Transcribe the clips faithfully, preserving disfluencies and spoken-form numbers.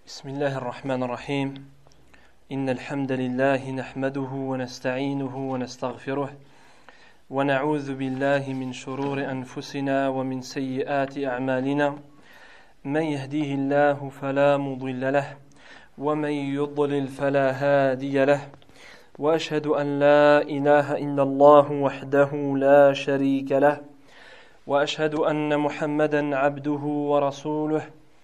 بسم الله الرحمن الرحيم إن الحمد لله نحمده ونستعينه ونستغفره ونعوذ بالله من شرور أنفسنا ومن سيئات أعمالنا من يهديه الله فلا مضل له ومن يضلل فلا هادي له وأشهد أن لا إله إلا الله وحده لا شريك له وأشهد أن محمدا عبده ورسوله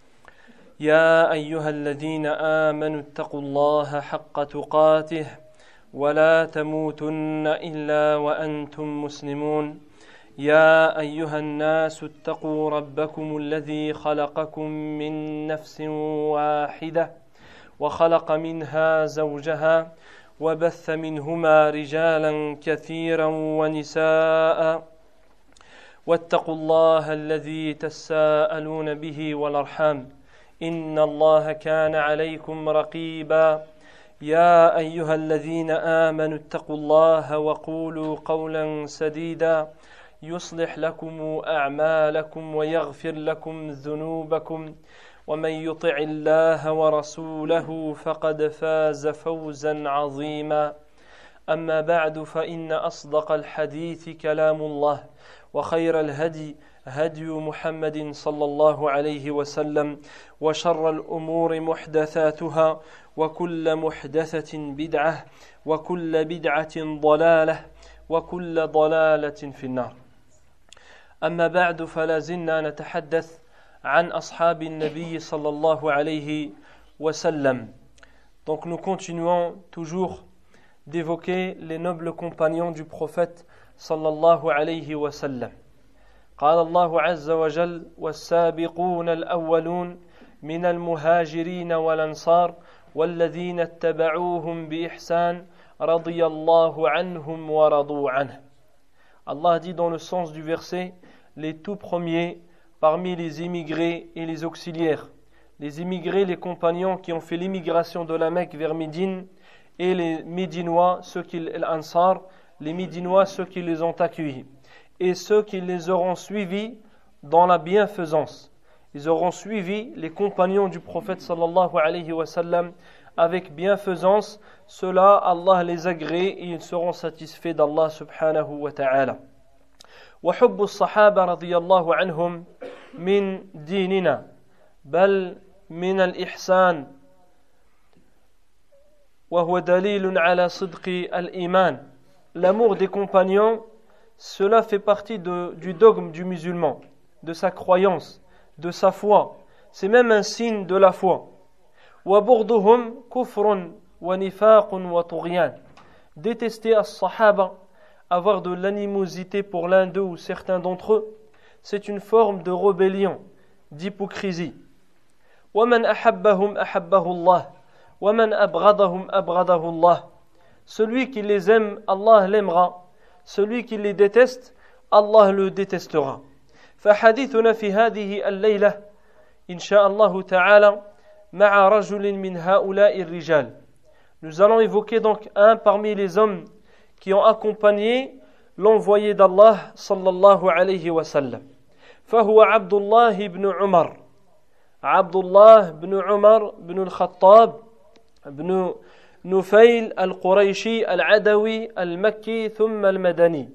يا أيها الذين آمنوا اتقوا الله حق تقاته ولا تموتن إلا وأنتم مسلمون يا أيها الناس اتقوا ربكم الذي خلقكم من نفس واحدة وخلق منها زوجها وبث منهما رجالا كثيرا ونساء واتقوا الله الذي تساءلون به والأرحام إن الله كان عليكم رقيبا يا أيها الذين آمنوا اتقوا الله وقولوا قولا سديدا يصلح لكم أعمالكم ويغفر لكم ذنوبكم ومن يطع الله ورسوله فقد فاز فوزا عظيما أما بعد فإن أصدق الحديث كلام الله وخير الهدي هدي محمد صلى الله عليه وسلم وشر الأمور محدثاتها وكل محدثة بدعة وكل بدعة ضلالة وكل ضلالة في النار أما بعد فلا زلنا نتحدث عن أصحاب النبي صلى الله عليه وسلم. Donc nous continuons toujours d'évoquer les nobles compagnons du prophète صلى الله عليه وسلم. قال الله عز وجل والسابقون الأولون من المهاجرين والأنصار والذين اتبعوهم بإحسان رضي الله عنهم ورضوا عنه. Allah dit dans le sens du verset les tout premiers parmi les immigrés et les auxiliaires. Les immigrés, les compagnons qui ont fait l'immigration de la Mecque vers Médine, et les Médinois, ceux qui l'Ansar, les Médinois, ceux qui les ont accueillis, et ceux qui les auront suivis dans la bienfaisance. Ils auront suivi les compagnons du prophète sallallahu alayhi wa sallam avec bienfaisance. Ceux-là, Allah les agrée et ils seront satisfaits d'Allah subhanahu wa ta'ala. وحب الصحابة رضي الله عنهم من ديننا بل من الإحسان وهو دليل على صدق الإيمان. L'amour des compagnons, cela fait partie de, du dogme du musulman, de sa croyance, de sa foi. C'est même un signe de la foi. وَبُغْضُهُمْ كُفْرٌ وَنِفَاقٌ وَطُغْيَانٌ. Détester as-sahaba, avoir de l'animosité pour l'un d'eux ou certains d'entre eux, c'est une forme de rébellion, d'hypocrisie. وَمَنْ أَحَبَّهُمْ أَحَبَّهُ اللَّهُ وَمَنْ أَبْغَضَهُمْ أَبْغَضَهُ اللَّهُ. Celui qui les aime, Allah l'aimera. Celui qui les déteste, Allah le détestera. فحديثنا في هذه الليلة إن شاء الله تعالى مع رجل من هؤلاء الرجال. Nous allons évoquer donc un parmi les hommes qui ont accompagné l'envoyé d'Allah sallallahu alayhi wa sallam. فهو عبد الله بن عمر. عبد الله بن عمر بن الخطاب بن نفيل القريشي العدوي المكي ثم المدني.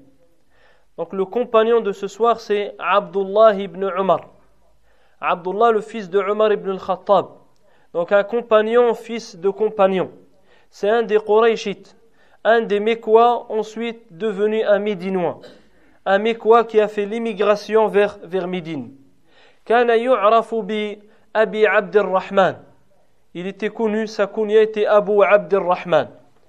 Donc le compagnon de ce soir c'est Abdullah ibn Umar. Abdullah le fils de Umar ibn al-Khattab. Donc un compagnon, fils de compagnon. C'est un des Qurayshites, un des Mécois ensuite devenu un Médinois. Un Mécois qui a fait l'immigration vers, vers Médine. كان يعرف بأبي عبد الرحمن. Il était connu, sa kunya était Abu Abd al-Rahman.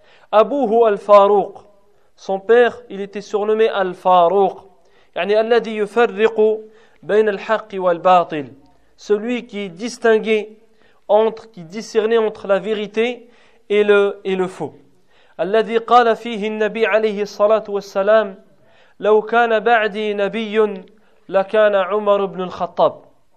Abuhu al-Farouq. Son père, il était surnommé al-Farouq. يعني الذي يفرق بين الحق والباطل. Celui qui distinguait entre, qui discernait entre la vérité et le, et le faux. الذي قال فيه النبي عليه الصلاة والسلام لو كان بعدي نبي لكان عمر بن الخطاب.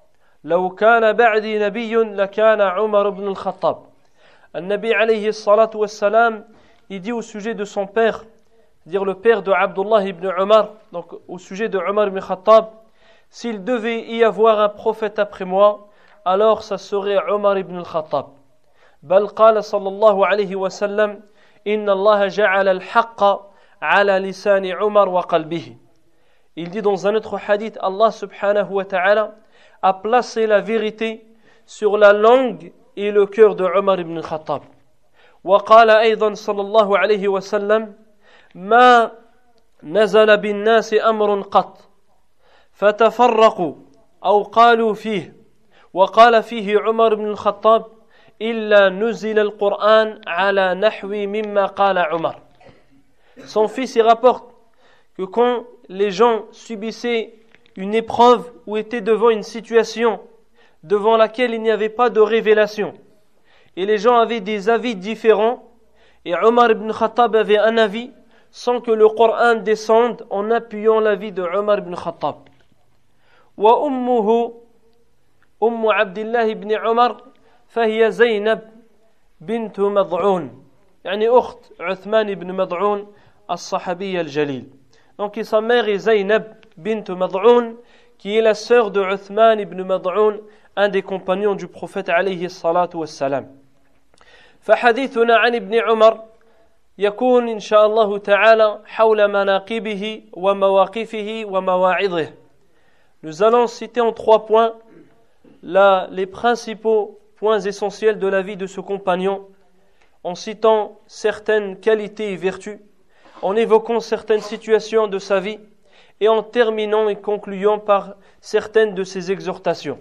لو كان بعدي نبي لكان عمر بن الخطاب. النبي عليه الصلاة والسلام, il dit au sujet de son père, dire le père de Abdullah ibn Umar, donc au sujet de Umar ibn Khattab, s'il devait y avoir un prophète après moi, alors ça serait Omar ibn al-Khattab. بل قال صلى الله عليه وسلم إن الله جعل الحق على لسان عمر وقلبه. Il dit dans un autre hadith, Allah subhanahu wa ta'ala a placé la vérité sur la langue et le cœur de Omar ibn al-Khattab. وقال أيضا صلى الله عليه وسلم ما نزل بالناس أمر قط فتفرقوا أو قالوا فيه وقال فيه عمر بن الخطاب إلا نزل القرآن على نحو مما قال عمر. Son fils y rapporte que quand les gens subissaient une épreuve ou étaient devant une situation devant laquelle il n'y avait pas de révélation et les gens avaient des avis différents et Omar ibn Khattab avait un avis sans que le Coran descende en appuyant l'avis de Omar ibn Khattab. وأمه أم عبد الله بن عمر فهي زينب بنت مضعون يعني أخت عثمان بن مضعون الصحابي الجليل. Donc sa mère est Zaynab bint Mad'oun qui est la sœur de Uthman ibn Mad'oun, un des compagnons du prophète alayhi salatu wassalam. فحديثنا عن ابن عمر يكون إن شاء الله تعالى حول مناقبه ومواقفه ومواعظه. Nous allons citer en trois points là, les principaux points essentiels de la vie de ce compagnon, en citant certaines qualités et vertus, en évoquant certaines situations de sa vie et en terminant et concluant par certaines de ses exhortations.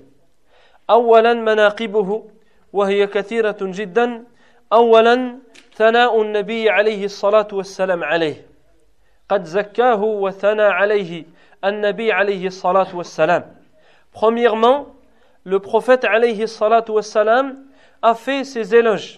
أولا مناقبه وهي كثيرة جدا. أولا ثناء النبي عليه الصلاة والسلام عليه قد زكاه وثنى عليه النبي عليه الصلاة والسلام. Premièrement, le prophète alayhi salatu wassalam a fait ses éloges,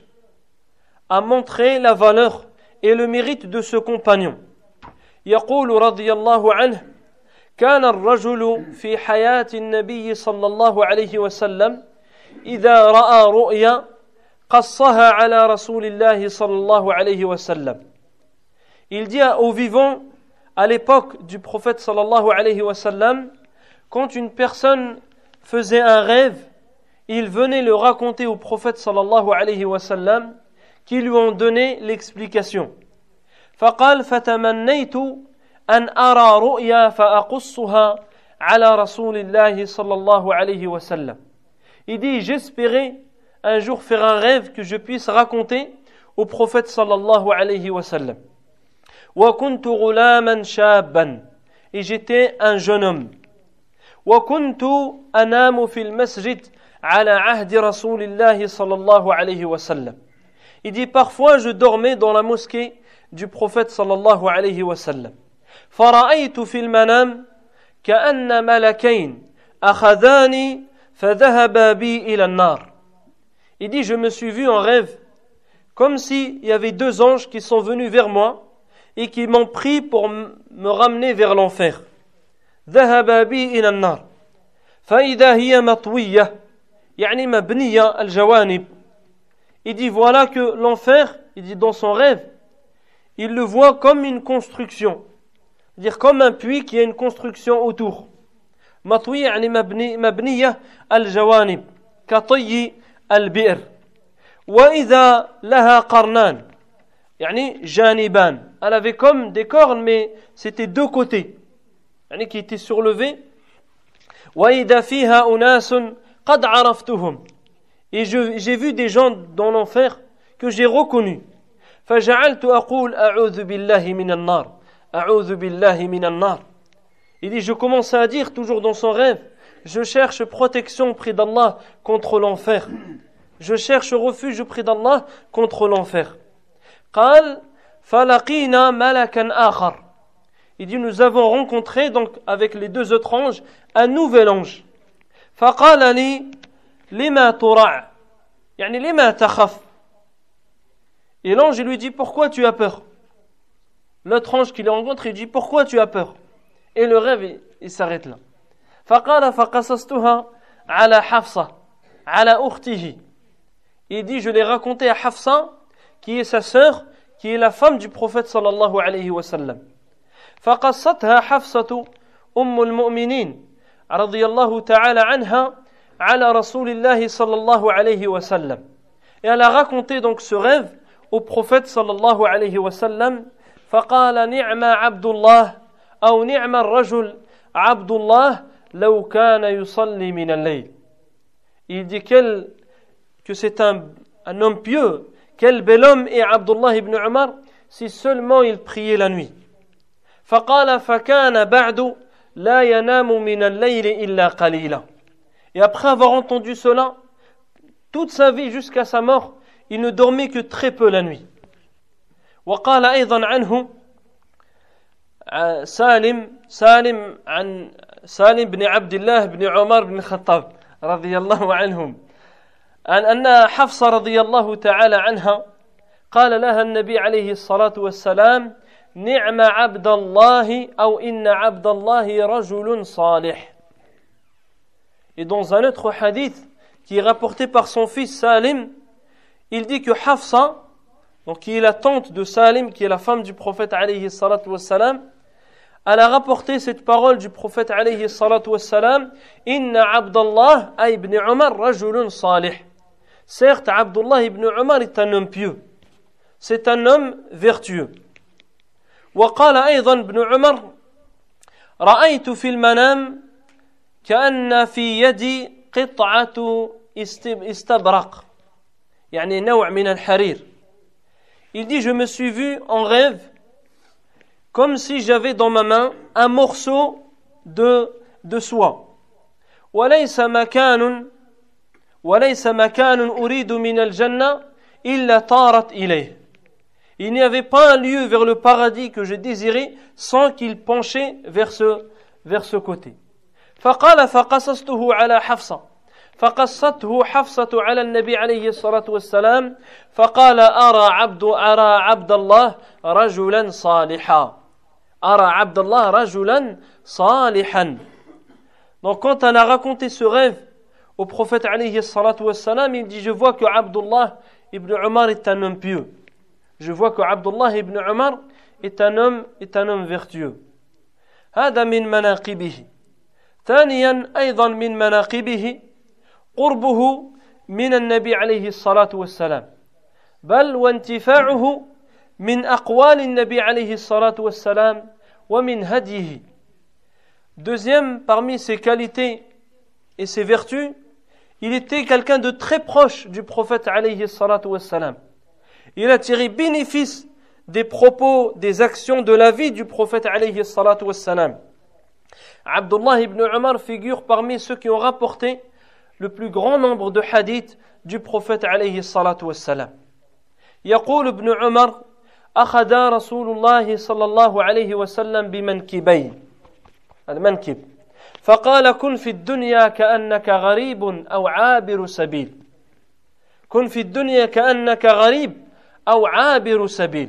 a montré la valeur et le mérite de ce compagnon. يقول رضي الله عنه كان الرجل في حياة النبي صلى الله عليه وسلم إذا رأى رؤيا قصها على رسول الله صلى الله عليه وسلم. Il dit aux vivants à l'époque du prophète sallallahu alayhi wa sallam, quand une personne faisait un rêve, il venait le raconter au prophète sallallahu alayhi wa sallam, qui lui ont donné l'explication. فقال فتمنيت أن أرى رؤيا فأقصها على رسول الله صلى الله عليه وسلم. Il dit, j'espérais un jour faire un rêve que je puisse raconter au prophète sallallahu alayhi wa sallam. وكنت غلاما شابا, et j'étais un jeune homme. وكنت أنام في المسجد على عهد رسول الله صلى الله عليه وسلم. Il dit parfois je dormais dans la mosquée du prophète sallallahu alayhi wa sallam. فرأيت في المنام كأن ملكين أخذاني فذهبا بي إلى النار. Il dit je me suis vu en rêve comme s'il y avait deux anges qui sont venus vers moi et qui m'ont pris pour me ramener vers l'enfer. ذهبا بي إلى النار فإذا هي مطوية يعني مبنية الجوانب. Il dit voilà que l'enfer, il dit dans son rêve, il le voit comme une construction, c'est-à-dire comme un puits qui a une construction autour. مطوية يعني مبني مبنية الجوانب كطي البئر. وإذا لها قرنان يعني جانبان. Elle avait comme des cornes mais c'était deux côtés, يعني qui étaient surlevés. وإذا فيها أناس قد عرفتهم. Et je, j'ai vu des gens dans l'enfer que j'ai reconnus. فجعلت أقول أعوذ بالله من النار أعوذ بالله من النار. Il dit je commence à dire toujours dans son rêve, je cherche protection auprès d'Allah contre l'enfer. Je cherche refuge auprès d'Allah contre l'enfer. قال فلقينا ملكا آخر. Il dit nous avons rencontré donc avec les deux autres anges un nouvel ange. فقال لي لما ترع يعني لما تخف. Et l'ange lui dit pourquoi tu as peur. L'autre ange qui les rencontre il dit pourquoi tu as peur. Et le rêve il, il s'arrête là. فقال فقصصتها على حفصة على أخته. Il dit je l'ai raconté à Hafsa qui est sa sœur qui est la femme du prophète sallallahu alayhi wa sallam. فقصتها حفصة أم المؤمنين رضي الله تعالى عنها على رسول الله صلى الله عليه وسلم. Et elle a raconté donc ce rêve au prophète صلى الله عليه وسلم. فقال نعم عبد الله أو نعم الرجل عبد الله لو كان يصلي من الليل. Il dit quel, que c'est un, un homme pieux, quel bel homme est Abdullah ibn Umar si seulement il priait la nuit. فقال فكان بعد لا ينام من الليل إلا قليلا. Et après avoir entendu cela, toute sa vie jusqu'à sa mort, il ne dormait que très peu la nuit. وقال أيضا عنه سالم سالم عن سالم بن عبد الله بن عمر بن الخطاب رضي الله عنهم أن أن حفصة رضي الله تعالى عنها قال لها النبي عليه الصلاة والسلام نعم عبد الله أو إن عبد الله رجل صالح. Et dans un autre hadith qui est rapporté par son fils Salim, il dit que Hafsa, donc qui est la tante de Salim, qui est la femme du prophète alayhi salatu wassalam, elle a rapporté cette parole du prophète alayhi salatu wassalam, Inna Abdallah ibn Umar rajulun salih. Certes, Abdullah ibn Umar est un homme pieux. C'est un homme vertueux. وقال أيضا ابن عمر رأيت في المنام كأن في يدي قطعة استبرق يعني نوع من الحرير. Il dit je me suis vu en rêve comme si j'avais dans ma main un morceau de, de soie. وليس مكان وليس مكان أريد من الجنة إلا طارت إليه. Il n'y avait pas un lieu vers le paradis que je désirais sans qu'il penchait vers ce, vers ce côté. فقال فقصصته على حفصة فقصته حفصة على النبي عليه الصلاة والسلام فقال أرى عبد أرى عبد الله رجلا صالحا أرى عبد الله رجلا صالحا. Donc quand on a raconté ce rêve au prophète alayhi الصلاة والسلام, il dit je vois que Abdullah ibn Umar est un homme pieux. Je vois que Abdullah ibn Umar est un homme, est un homme vertueux. هذا من مناقبه. ثانيا أيضا من مناقبه قربه من النبي عليه الصلاة والسلام بل وانتفاعه من أقوال النبي عليه الصلاة والسلام ومن هديه. Deuxième, parmi ses qualités et ses vertus, il était quelqu'un de très proche du prophète alayhi الصلاة والسلام. Il a tiré bénéfice des propos, des actions de la vie du prophète alayhi الصلاة والسلام. Abdullah ibn Umar figure parmi ceux qui ont rapporté le plus grand nombre de hadiths du prophète alayhi الصلاة والسلام. يقول ابن عمر أخذ رسول الله صلى الله عليه وسلم بمنكبين المنكب فقال كن في الدنيا كأنك غريب أو عابر سبيل كن في الدنيا كأنك غريب أو عابر سبيل.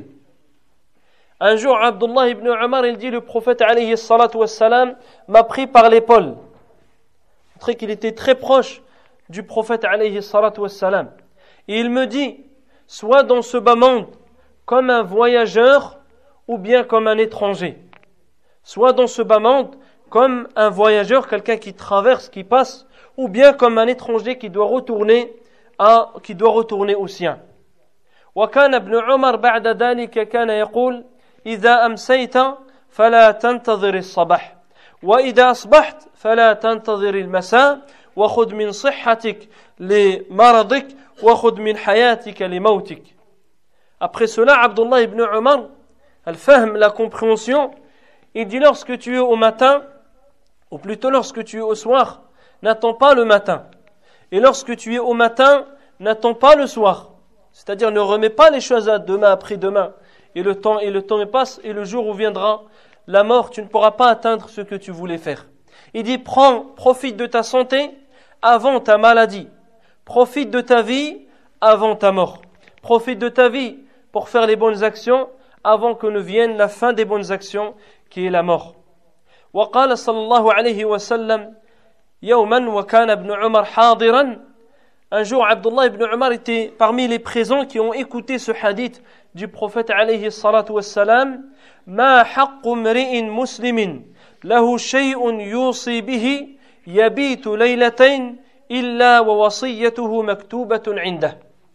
Un jour, Abdullah ibn Umar, il dit, le prophète alayhi salatu wassalam m'a pris par l'épaule. Montré qu'il était très proche du prophète alayhi salatu wassalam. Et il me dit, sois dans ce bas monde comme un voyageur ou bien comme un étranger. Sois dans ce bas monde comme un voyageur, quelqu'un qui traverse, qui passe, ou bien comme un étranger qui doit retourner à, qui doit retourner au sien. وكان ابن عمر بعد ذلك كان يقول إذا أمسيت فلا تنتظر الصباح وإذا أصبحت فلا تنتظر المساء وخذ من صحتك لمرضك وخذ من حياتك لموتك. Après cela, Abdullah ibn Umar, al-fahm, la compréhension, il dit lorsque tu es au matin, ou plutôt lorsque tu es au soir, n'attends pas le matin. Et lorsque tu es au matin, n'attends pas le soir. C'est-à-dire ne remets pas les choses à demain, après-demain. Et le temps, et le temps passe, et le jour où viendra la mort, tu ne pourras pas atteindre ce que tu voulais faire. Il dit, prends, profite de ta santé avant ta maladie. Profite de ta vie avant ta mort. Profite de ta vie pour faire les bonnes actions avant que ne vienne la fin des bonnes actions, qui est la mort. وقال صلى الله عليه وسلم يوما وكان ابن عمر حاضرا. Un jour, Abdullah ibn Umar était parmi les présents qui ont écouté ce hadith du prophète alayhi salatu wassalam. ما حق امرئ مسلم له شيء يوصي به يبيت ليلتين إلا ووصيته مكتوبة عنده.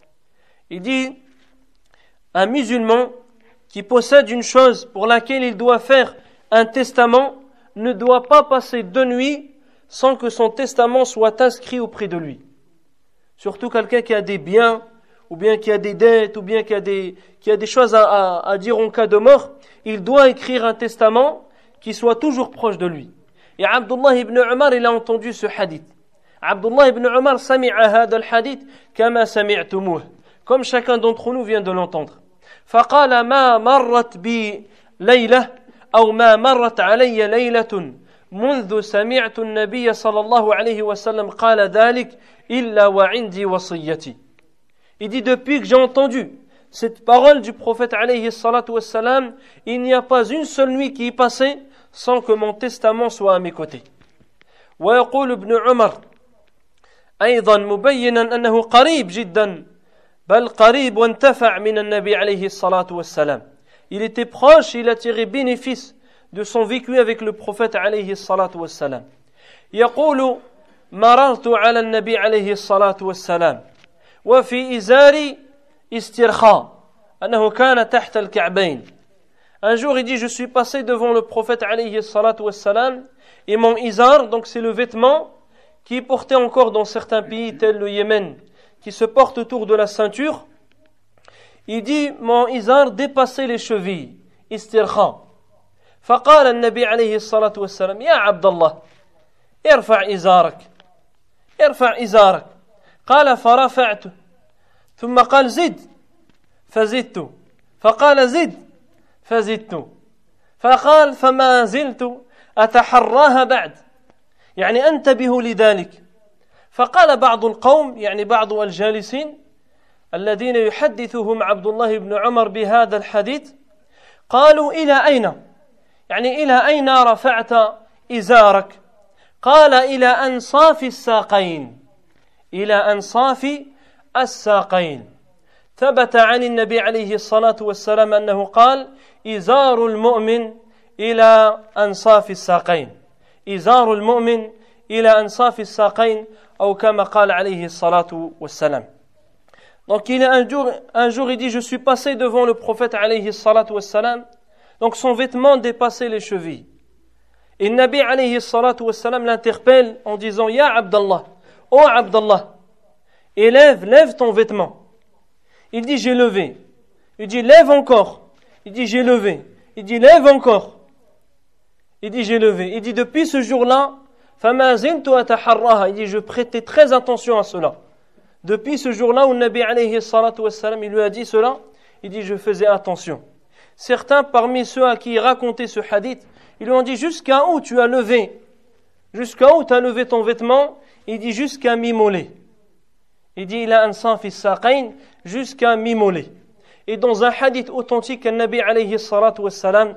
Il dit, un musulman qui possède une chose pour laquelle il doit faire un testament ne doit pas passer deux nuits sans que son testament soit inscrit auprès de lui. Surtout quelqu'un qui a des biens, ou bien qui a des dettes, ou bien qui a des, qui a des choses à, à, à dire en cas de mort, il doit écrire un testament qui soit toujours proche de lui. Et Abdullah ibn Umar, il a entendu ce hadith. Abdullah ibn Umar sami'a hada al-hadith kama sami'tumuh. Comme chacun d'entre nous vient de l'entendre. فقال ما مرت بي ليلة أو ما مرت علي ليلة منذ سمعت النبي صلى الله عليه وسلم قال ذلك إلا وعندي وصيتي. Il dit, depuis que j'ai entendu cette parole du prophète alayhi salatu wassalam, il n'y a pas une seule nuit qui est passée sans que mon testament soit à mes côtés. ويقول ابن عمر أيضا مبينا أنه قريب جدا بل قريب وانتفع من النبي عليه الصلاة والسلام. Il était proche, il a tiré bénéfice de son vécu avec le prophète عليه الصلاة والسلام. يقول مررت على النبي عليه الصلاة والسلام وفي إزاري استرخاء أنه كان تحت الكعبين. Un jour il dit, je suis passé devant le prophète عليه الصلاة والسلام et mon izar, donc c'est le vêtement qui est porté encore dans certains pays tels le Yémen, qui se porte autour de la ceinture. Il dit, mon izar dépassait les chevilles, istirkha. فقال النبي عليه الصلاة والسلام يا عبد الله ارفع إزارك ارفع إزارك. قال فرفعته ثم قال زد فزدت فقال زد فزدت فقال فما زلت أتحراها بعد يعني أنتبه لذلك. فقال بعض القوم يعني بعض الجالسين الذين يحدثهم عبد الله بن عمر بهذا الحديث قالوا إلى أين يعني إلى أين رفعت إزارك؟ قال إلى أنصاف الساقين إلى أنصاف الساقين. ثبت عن النبي عليه الصلاة والسلام أنه قال إزار المؤمن إلى أنصاف الساقين إزار المؤمن إلى أنصاف الساقين أو كما قال عليه الصلاة والسلام. Donc il est un jour, un jour il dit, je suis passé devant le prophète alayhi salatu wassalam, donc son vêtement dépassait les chevilles. Et le Nabi alayhi salatu wassalam l'interpelle en disant, Ya Abdallah, oh Abdallah, élève, lève ton vêtement. Il dit, j'ai levé. Il dit, lève encore. Il dit, j'ai levé. Il dit, lève encore. Il dit, j'ai levé. Il dit, depuis ce jour-là, فَمَا زِلْتُ أَتَحَرَّاهَا. Il dit, je prêtais très attention à cela. Depuis ce jour-là où le Nabi alayhi salatu wassalam, il lui a dit cela, il dit, je faisais attention. Certains parmi ceux à qui il racontait ce hadith, ils lui ont dit, jusqu'à où tu as levé? Jusqu'à où tu as levé ton vêtement? Il dit, jusqu'à mi-mollet. Il dit, il a un sang fils saqayn, jusqu'à mi-mollet. Et dans un hadith authentique, le Nabi alayhi salatu wassalam,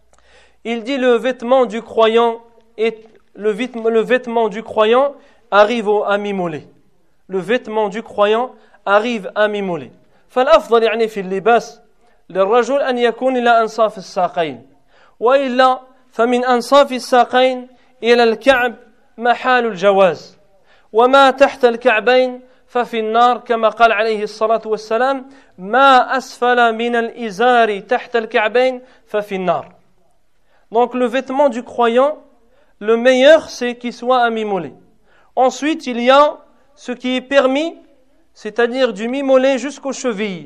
il dit, le vêtement du croyant est, le vêtement, le vêtement du croyant arrive au, à mi-mollet. Le vêtement du croyant arrive à mi-mollet. فالأفضل يعني في اللباس للرجل أن يكون إلى أنصاف الساقين وإلا فمن أنصاف الساقين إلى الكعب محال الجواز وما تحت الكعبين ففي النار كما قال عليه الصلاة والسلام ما أسفل من الإزار تحت الكعبين ففي النار. Donc le vêtement du croyant, le meilleur c'est qu'il soit à mi-mollet. Ensuite il y a ce qui est permis, c'est-à-dire du mi-mollet jusqu'aux chevilles.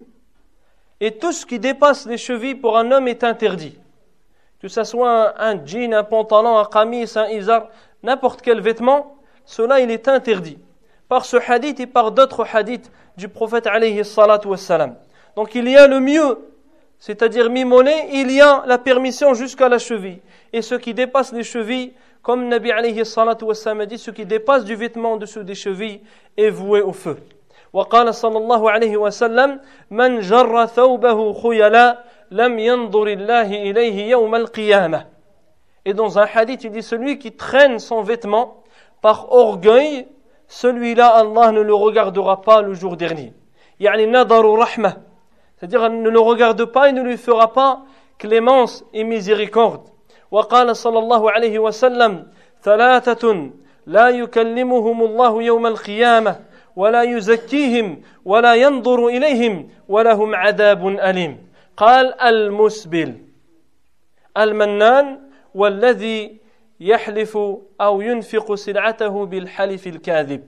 Et tout ce qui dépasse les chevilles pour un homme est interdit. Que ce soit un, un jean, un pantalon, un qamis, un izar, n'importe quel vêtement, cela il est interdit. Par ce hadith et par d'autres hadiths du prophète alayhi salatu wassalam. Donc il y a le mieux, c'est-à-dire mi-mollet, il y a la permission jusqu'à la cheville. Et ce qui dépasse les chevilles, comme Nabi alayhi salatu wassalam a dit, ce qui dépasse du vêtement en dessous des chevilles est voué au feu. وقال صلى الله عليه وسلم من جر ثوبه خيلا لم ينظر الله إليه يوم القيامة. Et dans un hadith, il dit, celui qui traîne son vêtement par orgueil, celui-là, Allah ne le regardera pas le jour dernier. يعني نظر رحمة, c'est-à-dire ne le regarde pas et ne lui fera pas clémence et miséricorde. وقال صلى الله عليه وسلم ثلاثة لا يكلمهم الله يوم القيامة ولا يزكيهم ولا ينظر إليهم ولهم عذاب أليم. قال المسبل المنان والذي يحلف أو ينفق سلعته بالحلف الكاذب.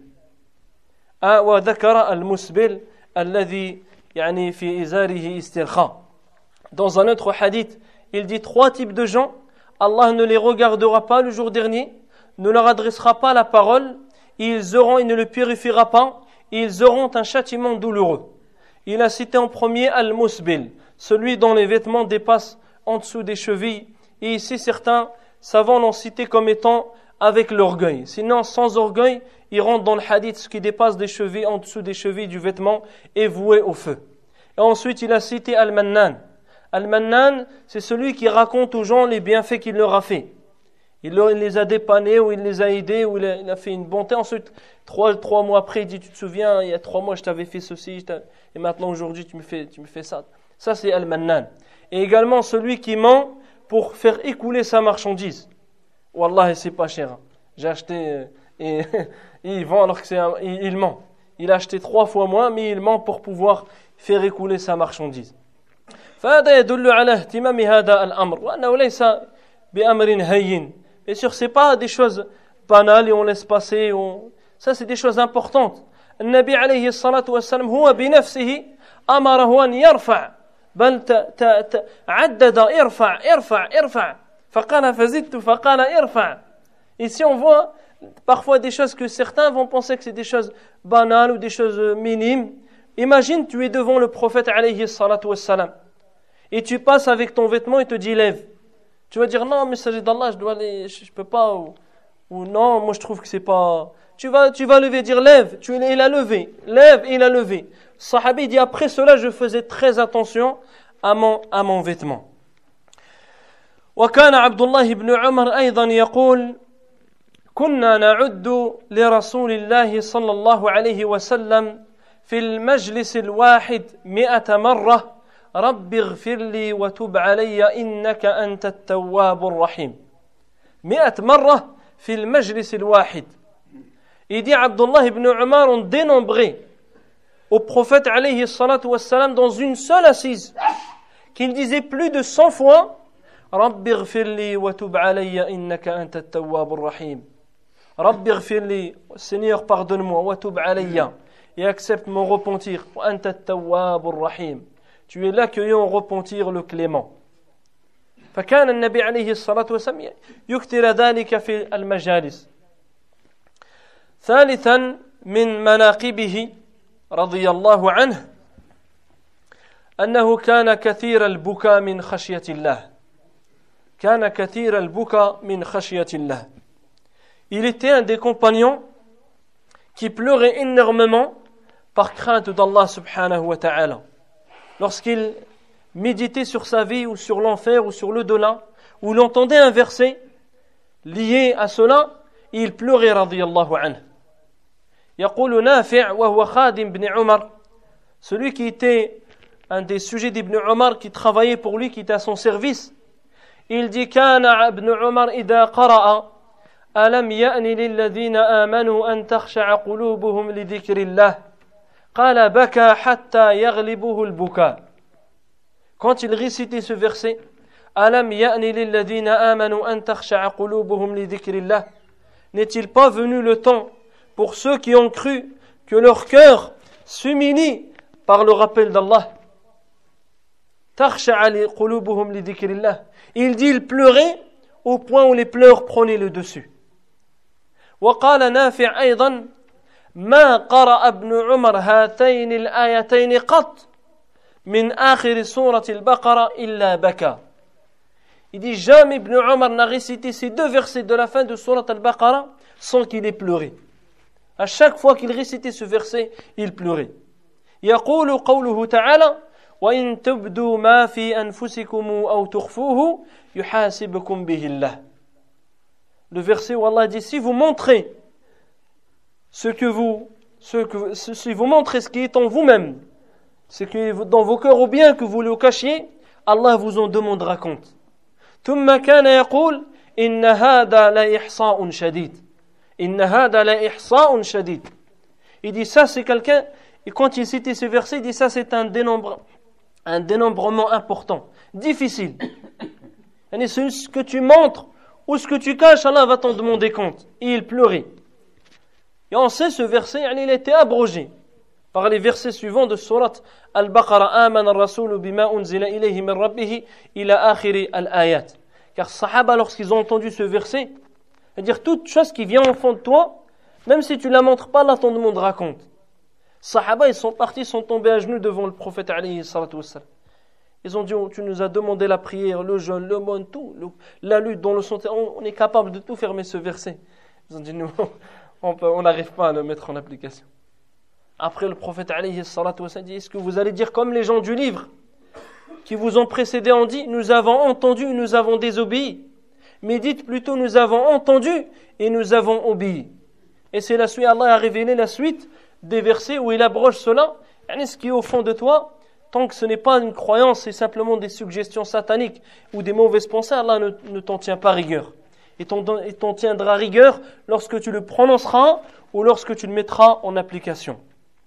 وذكر المسبل الذي يعني في إزاره استرخاء. Dans un autre hadith, il dit trois types de gens, Allah ne les regardera pas le jour dernier, ne leur adressera pas la parole, ils auront, il ne le purifiera pas, ils auront un châtiment douloureux. Il a cité en premier Al-Musbil, celui dont les vêtements dépassent en dessous des chevilles, et ici certains savants l'ont cité comme étant avec l'orgueil. Sinon, sans orgueil, il rentre dans le hadith, ce qui dépasse des chevilles, en dessous des chevilles du vêtement, est voué au feu. Et ensuite, il a cité Al-Mannan. Al-Mannan, c'est celui qui raconte aux gens les bienfaits qu'il leur a fait. Il les a dépannés, ou il les a aidés, ou il a fait une bonté. Ensuite, trois, trois mois après, il dit, tu te souviens, il y a trois mois, je t'avais fait ceci, et maintenant, aujourd'hui, tu me fais, tu me fais ça. Ça, c'est Al-Mannan. Et également, celui qui ment pour faire écouler sa marchandise. Wallah, c'est pas cher. J'ai acheté, et, et il vend alors que c'est un, il, il ment. Il a acheté trois fois moins, mais il ment pour pouvoir faire écouler sa marchandise. فهذا يدل على اهتمام هذا الأمر وأنه ليس بأمر هين. Bien sûr, c'est pas des choses banales et on laisse passer. On... Ça, c'est des choses importantes. النبي عليه الصلاة والسلام هو بنفسه أمره أن يرفع بل ت... ت... ت... عدد ارفع ارفع ارفع فقال فزدت فقال ارفع. Ici, on voit parfois des choses que certains vont penser que c'est des choses banales ou des choses minimes. Imagine, tu es devant le prophète alayhi salatu wassalam et tu passes avec ton vêtement et te dis lève. Tu vas dire non, mais s'agit d'Allah, je dois aller, je, je peux pas, ou, ou non, moi je trouve que c'est pas. Tu vas, tu vas lever, dire lève. Tu, il a levé, lève et il a levé. Sahabi dit après cela, je faisais très attention à mon, à mon vêtement. وكان عبد الله بن عمر أيضا يقول كنا نعد لرسول الله صلى الله عليه وسلم في المجلس الواحد مئة مرة رب اغفر لي وتب علي إنك أنت التواب الرحيم. مئة مرة في المجلس الواحد. Il dit Abdullah ibn Umar ont dénombré au prophète alayhi salatu wassalam dans une seule assise qu'il disait plus de cent fois رب اغفر لي وتب علي إنك أنت التواب الرحيم. رب اغفر لي, Seigneur pardonne-moi, وتب علي, et accepte mon repentir. وأنت التواب الرحيم. Tu es l'accueillant au repentir le clément. فكان النبي عليه الصلاة والسلام يكثر ذلك في المجالس. ثالثا من مناقبه رضي الله عنه أنه كان كثير البكاء من خشية الله. كان كثير البكاء من خشية الله. Il était un des compagnons qui pleurait énormément par crainte d'Allah subhanahu wa ta'ala. Lorsqu'il méditait sur sa vie ou sur l'enfer ou sur l'au-delà, ou il entendait un verset lié à cela, il pleurait radiyallahu anhu. يقول نافع وهو خادم بن عمر, celui qui était un des sujets d'Ibn Omar qui travaillait pour lui, qui était à son service, il dit كان ابن عمر إذا قرأ ألم يأن للذين آمنوا أن تخشع قلوبهم لذكر الله قال بكى حتى يغلبه البكاء. Quand il récitait ce verset, ألم يأن للذين آمنوا أن تخشع قلوبهم لذكر الله, n'est-il pas venu le temps pour ceux qui ont cru que leur cœur s'humilie par le rappel d'Allah? تخشع قلوبهم لذكر الله. Il dit il pleurait au point où les pleurs prenaient le dessus. وقال نافع أيضا ما قرأ ابن عمر هاتين الآيتين قط من آخر سورة البقرة إلا بكى. Il dit jamais Ibn Omar n'a récité ces deux versets de la fin de Surat al-Baqarah sans qu'il ait pleuré. À chaque fois qu'il récitait ce verset, il pleurait. يقول قوله تعالى وإن تبدوا ما في أنفسكم أو تخفوه يحاسبكم به الله. Le verset où Allah dit si vous montrez ce que vous, ce que, si vous montrez ce qui est en vous-même, ce qui est dans vos cœurs ou bien que vous le cachiez, Allah vous en demandera compte. ثم كان يقول إن هذا لإحصاء شديد. Inna hada la ihsa'un shadid. Il dit ça c'est quelqu'un, et quand il citait ce verset, il dit ça c'est un dénombre, un dénombrement important, difficile. Et c'est ce que tu montres ou ce que tu caches, Allah va t'en demander compte. Et il pleurait. Et on sait ce verset, il a été abrogé par les versets suivants de Surat Al-Baqarah. Amana ar-rasulu bima unzila ilayhi min rabbih ila akhiri al-ayat. Car Sahaba, lorsqu'ils ont entendu ce verset, c'est-à-dire toute chose qui vient au fond de toi, même si tu ne la montres pas, Allah t'en demandera compte. Sahaba, ils sont partis, sont tombés à genoux devant le prophète alayhi salatu wassalam. Ils ont dit, oh, tu nous as demandé la prière, le jeûne, le monde, tout, le, la lutte dans le santé, on, on est capable de tout fermer ce verset. Ils ont dit, nous, on n'arrive pas à le mettre en application. Après, le prophète alayhi salatu wassalam dit, est-ce que vous allez dire comme les gens du livre qui vous ont précédé ont dit, nous avons entendu, nous avons désobéi. Mais dites plutôt, nous avons entendu et nous avons obéi. Et c'est la suite, Allah a révélé la suite des versets où il abroge cela. Et ce qui est au fond de toi, tant que ce n'est pas une croyance, c'est simplement des suggestions sataniques ou des mauvaises pensées, Allah ne, ne t'en tient pas rigueur. Et t'en, et t'en tiendra rigueur lorsque tu le prononceras ou lorsque tu le mettras en application.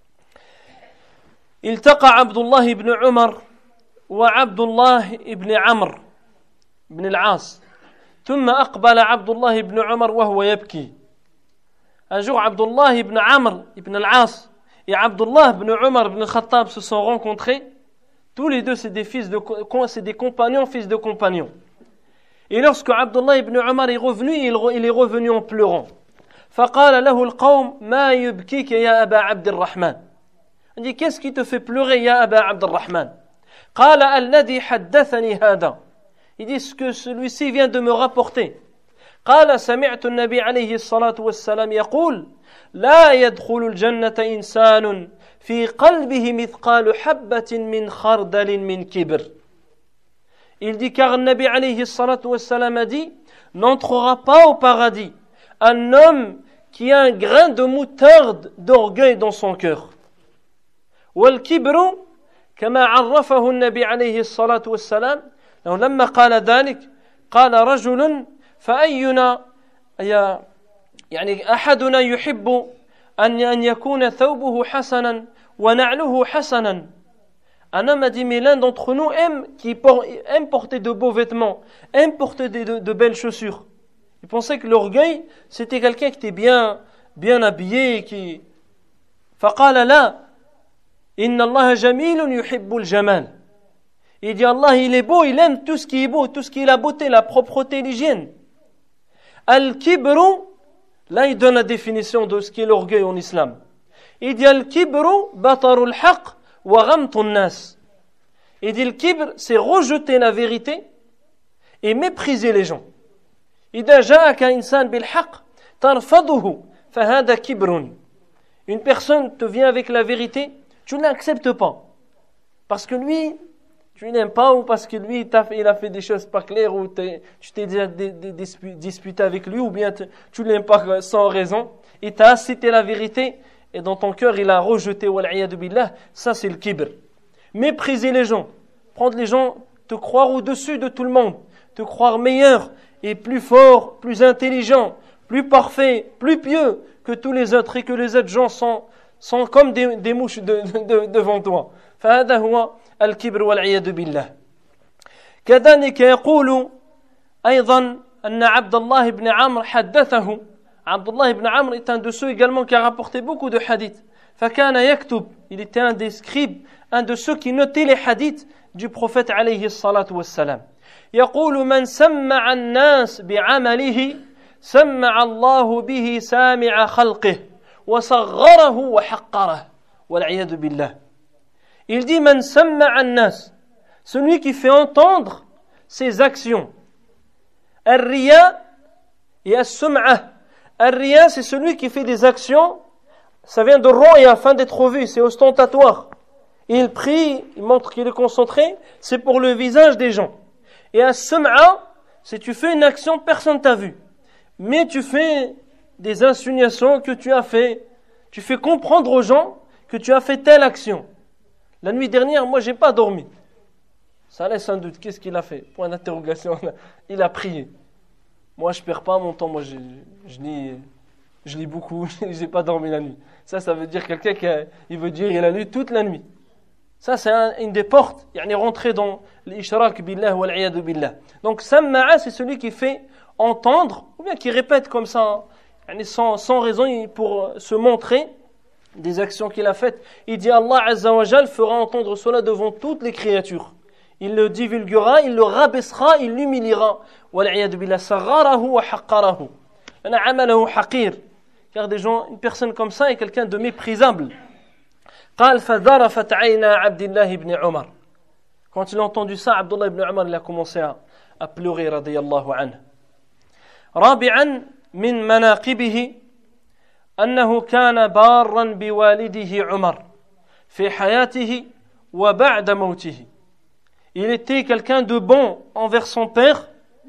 التقى عبد الله بن عمر وعبد الله بن عمرو بن العاص ثم أقبل عبد الله بن عمر وهو يبكي. Un jour, Abdullah ibn Amr ibn al-As et Abdullah ibn Umar ibn al-Khattab se sont rencontrés. Tous les deux, c'est des fils de, c'est des compagnons, fils de compagnons. Et lorsque Abdullah ibn Umar est revenu, il est revenu en pleurant. فقال له القوم ما يبكيك يا أبا عبد الرحمن. Il dit, qu'est-ce qui te fait pleurer, ya Aba Abd al-Rahman? قال الذي حدثني هذا. Il dit, ce que celui-ci vient de me rapporter. قال سمعت النبي عليه الصلاة والسلام يقول لا يدخل الجنة إنسان في قلبه مثقال حبة من خردل من كبر. Il dit, car le Nabi alayhi الصلاة والسلام a dit, n'entrera pas au paradis un homme qui a un grain de moutarde d'orgueil dans son cœur. والكبر كما عرفه النبي عليه الصلاة والسلام لما قال ذلك قال رجل فأينا يعني أحدنا يحب أن أن يكون ثوبه حسنا ونعله حسنا. Un homme a dit, mais l'un d'entre nous aime, qui por- aime porter de beaux vêtements, aime porter de, de, de belles chaussures. Il pensait que l'orgueil, c'était quelqu'un qui était bien, bien habillé. Qui... فقال لا إن الله جميل يحب الجمال. Il dit, Allah, il est beau, il aime tout ce qui est beau, tout ce qui est la beauté, la propreté, l'hygiène. Al-kibru, là il donne la définition de ce qui est l'orgueil en islam. Il dit, Al-kibru batarul haq wa ghamtun nas. Il dit, le kibr, c'est rejeter la vérité et mépriser les gens. إذا جاءك إنسان بالحق ترفضه فهذا كبر. Une personne te vient avec la vérité, tu ne l'acceptes pas. Parce que lui, tu n'aimes pas, ou parce que lui, il a fait des choses pas claires, ou tu t'es déjà disputé avec lui, ou bien tu ne l'aimes pas sans raison. Il t'a cité la vérité, et dans ton cœur, il a rejeté, wal'iyadu billah. Ça, c'est le kibr. Mépriser les gens. Prendre les gens, te croire au-dessus de tout le monde. Te croire meilleur, et plus fort, plus intelligent, plus parfait, plus pieux que tous les autres, et que les autres gens sont, sont comme des, des mouches de, de, devant toi. فهذا هو الكبر والعياذ بالله. كذلك يقول أيضا أن عبد الله بن عمرو حدثه. عبد الله بن عمرو est un de ceux également qui a rapporté beaucoup de hadiths. فكان يكتب, il était un des scribes, un de ceux qui notaient les hadiths du prophète عليه الصلاة والسلام. يقول من سمع الناس بعمله سمع الله به سامع خلقه وصغره وحقره والعياذ بالله. Il dit man samma'a an-nas, celui qui fait entendre ses actions. Ar-riya et as-sum'a. Ar-riya, c'est celui qui fait des actions, ça vient de roi et afin d'être vu, c'est ostentatoire. Il prie, il montre qu'il est concentré, c'est pour le visage des gens. Et as-sum'a, c'est tu fais une action, personne t'a vu. Mais tu fais des insinuations que tu as fait, tu fais comprendre aux gens que tu as fait telle action. La nuit dernière, moi, j'ai pas dormi. Ça laisse un doute. Qu'est-ce qu'il a fait? Point d'interrogation. Il a prié. Moi, je perds pas mon temps. Moi, je, je lis Je lis beaucoup, j'ai pas dormi la nuit. Ça, ça veut dire quelqu'un qui a, il veut dire il a lu toute la nuit. Ça, c'est un, une des portes, yani rentrer dans l'ishrak billah wal iyadu billah. Donc, samma'a, c'est celui qui fait entendre, ou bien qui répète comme ça, yani sans, sans raison, pour se montrer des actions qu'il a faites. Il dit Allah Azza wa Jal fera entendre cela devant toutes les créatures. Il le divulguera, il le rabaissera, il l'humiliera. Wal iyadu billah, sagharahu wa haqqarahu. Ana amalahu haqir. Car des gens, une personne comme ça est quelqu'un de méprisable. قال فذرفت عينا عبد الله بن عمر. Quand il a entendu ça, Abdullah ibn Umar, il a commencé à, à pleurer رضي الله عنه. رابعا من مناقبه أنه كان بارا بوالده عمر في حياته وبعد موته. Il était quelqu'un de bon envers son père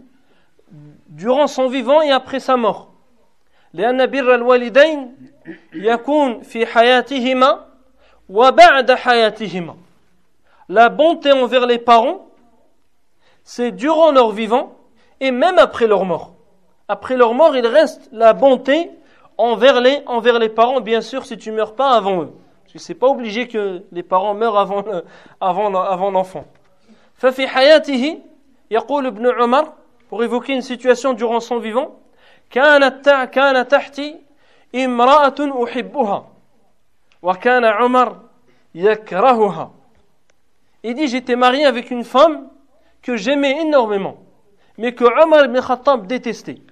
durant son vivant et après sa mort. لأن بر الوالدين يكون في حياتهما وبعد حياتهما. La bonté envers les parents, c'est durant leur vivant et même après leur mort. Après leur mort, il reste la bonté envers les, envers les parents, bien sûr, si tu ne meurs pas avant eux. Parce que ce n'est pas obligé que les parents meurent avant, le, avant, avant l'enfant. ففي حياته يقول ابن عمر, pour évoquer une situation durant son vivant, كانت كان تحتي امرأة أحبها وكان عمر يكرهها. Il dit, j'étais marié avec une femme que j'aimais énormément, mais que Omar ibn Khattab détestait.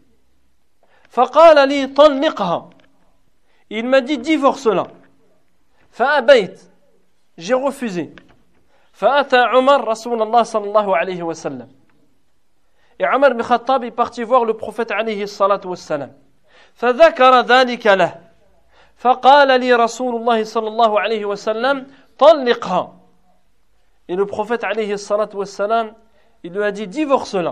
فقال لي طلقها. Il m'a dit, divorce-la. فأبيت. J'ai refusé. فأتى عمر رسول الله صلى الله عليه وسلم. Et Omar ibn Khattab est parti voir le prophète عليه الصلاة والسلام. فذكر ذلك له. فقال لي رسول الله صلى الله عليه وسلم طلقها. Et le prophète عليه الصلاة والسلام, il lui a dit, divorce-la.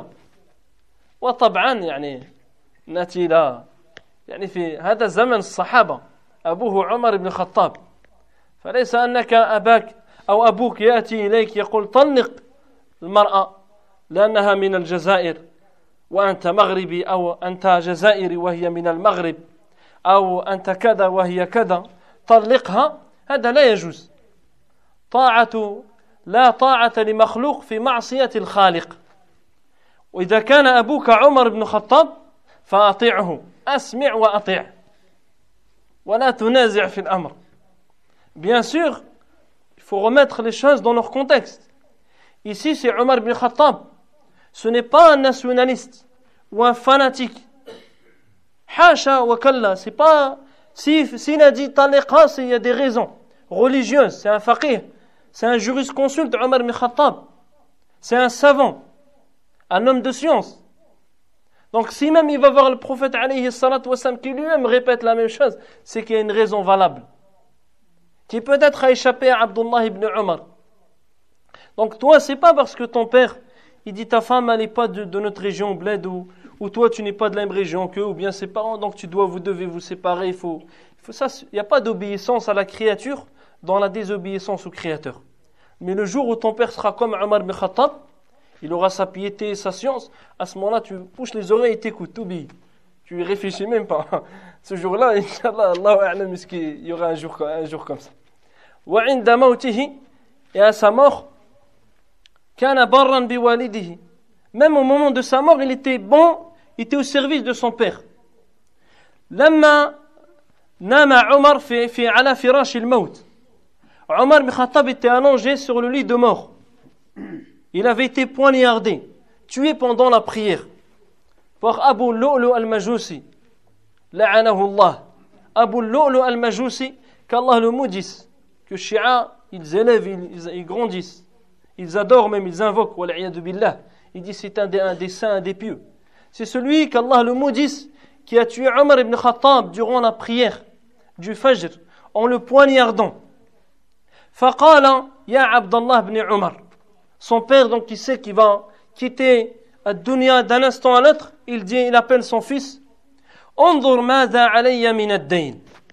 وطبعا يعني نأتي إلى يعني في هذا زمن الصحابة أبوه عمر بن الخطاب, فليس أنك أباك أو أبوك يأتي إليك يقول طلق المرأة لأنها من الجزائر وأنت مغربي, أو أنت جزائري وهي من المغرب, أو أنت كذا وهي كذا, طلقها. هذا لا يجوز. طاعة لا طاعة لمخلوق في معصية الخالق. وإذا كان أبوك عمر بن الخطاب فأطيعه, أسمع وأطيع ولا تنازع في الأمر. Bien sûr, il faut remettre les choses dans leur contexte. Ici, c'est Omar ibn Khattab. Ce n'est pas un nationaliste ou un fanatique. Hasha wa kalla, c'est pas, si, s'il a dit taliqa, c'est, il y a des raisons religieuses. C'est un faqih, c'est un jurisconsulte, Omar ibn Khattab. C'est un savant, un homme de science. Donc si même il va voir le prophète alayhi salatu wassalam qui lui-même répète la même chose, c'est qu'il y a une raison valable qui peut-être a échappé à Abdullah ibn Umar. Donc toi, c'est pas parce que ton père il dit ta femme elle n'est pas de, de notre région bled, ou, ou toi tu n'es pas de la même région qu'eux, ou bien ses parents, donc tu dois, vous devez vous séparer. Il faut, il faut ça. Il n'y a pas d'obéissance à la créature dans la désobéissance au Créateur. Mais le jour où ton père sera comme Omar ibn Khattab, il aura sa piété et sa science, à ce moment-là, tu bouches les oreilles et t'écoutes, t'oublies. Tu y réfléchis même pas. Ce jour-là, Inch'Allah, Allahu a'lam, il y aura un jour, un jour comme ça. Wa 'inda mawtihi, et à sa mort, kana barran biwalidihi. Même au moment de sa mort, il était bon, il était au service de son père. Lamma nama Omar fi fi ala firash al-maut. Omar ibn Khattab était allongé sur le lit de mort. Il avait été poignardé, tué pendant la prière par Abu Lu'lu al-Majusi, la'anahu Allah. Abu Lu'lu al-Majusi, qu'Allah le maudisse, que Shia, ils élèvent, ils, ils grandissent, ils adorent même, ils invoquent, wal'iyadu billah. Il dit c'est un des, un des saints, un des pieux. C'est celui qu'Allah le maudisse qui a tué Omar ibn Khattab durant la prière du Fajr en le poignardant. Faqala ya Abdallah ibn Omar. Son père, donc, il sait qu'il va quitter la dunya d'un instant à l'autre. Il dit, il appelle son fils. Anzur madha alayya min ad-dayn.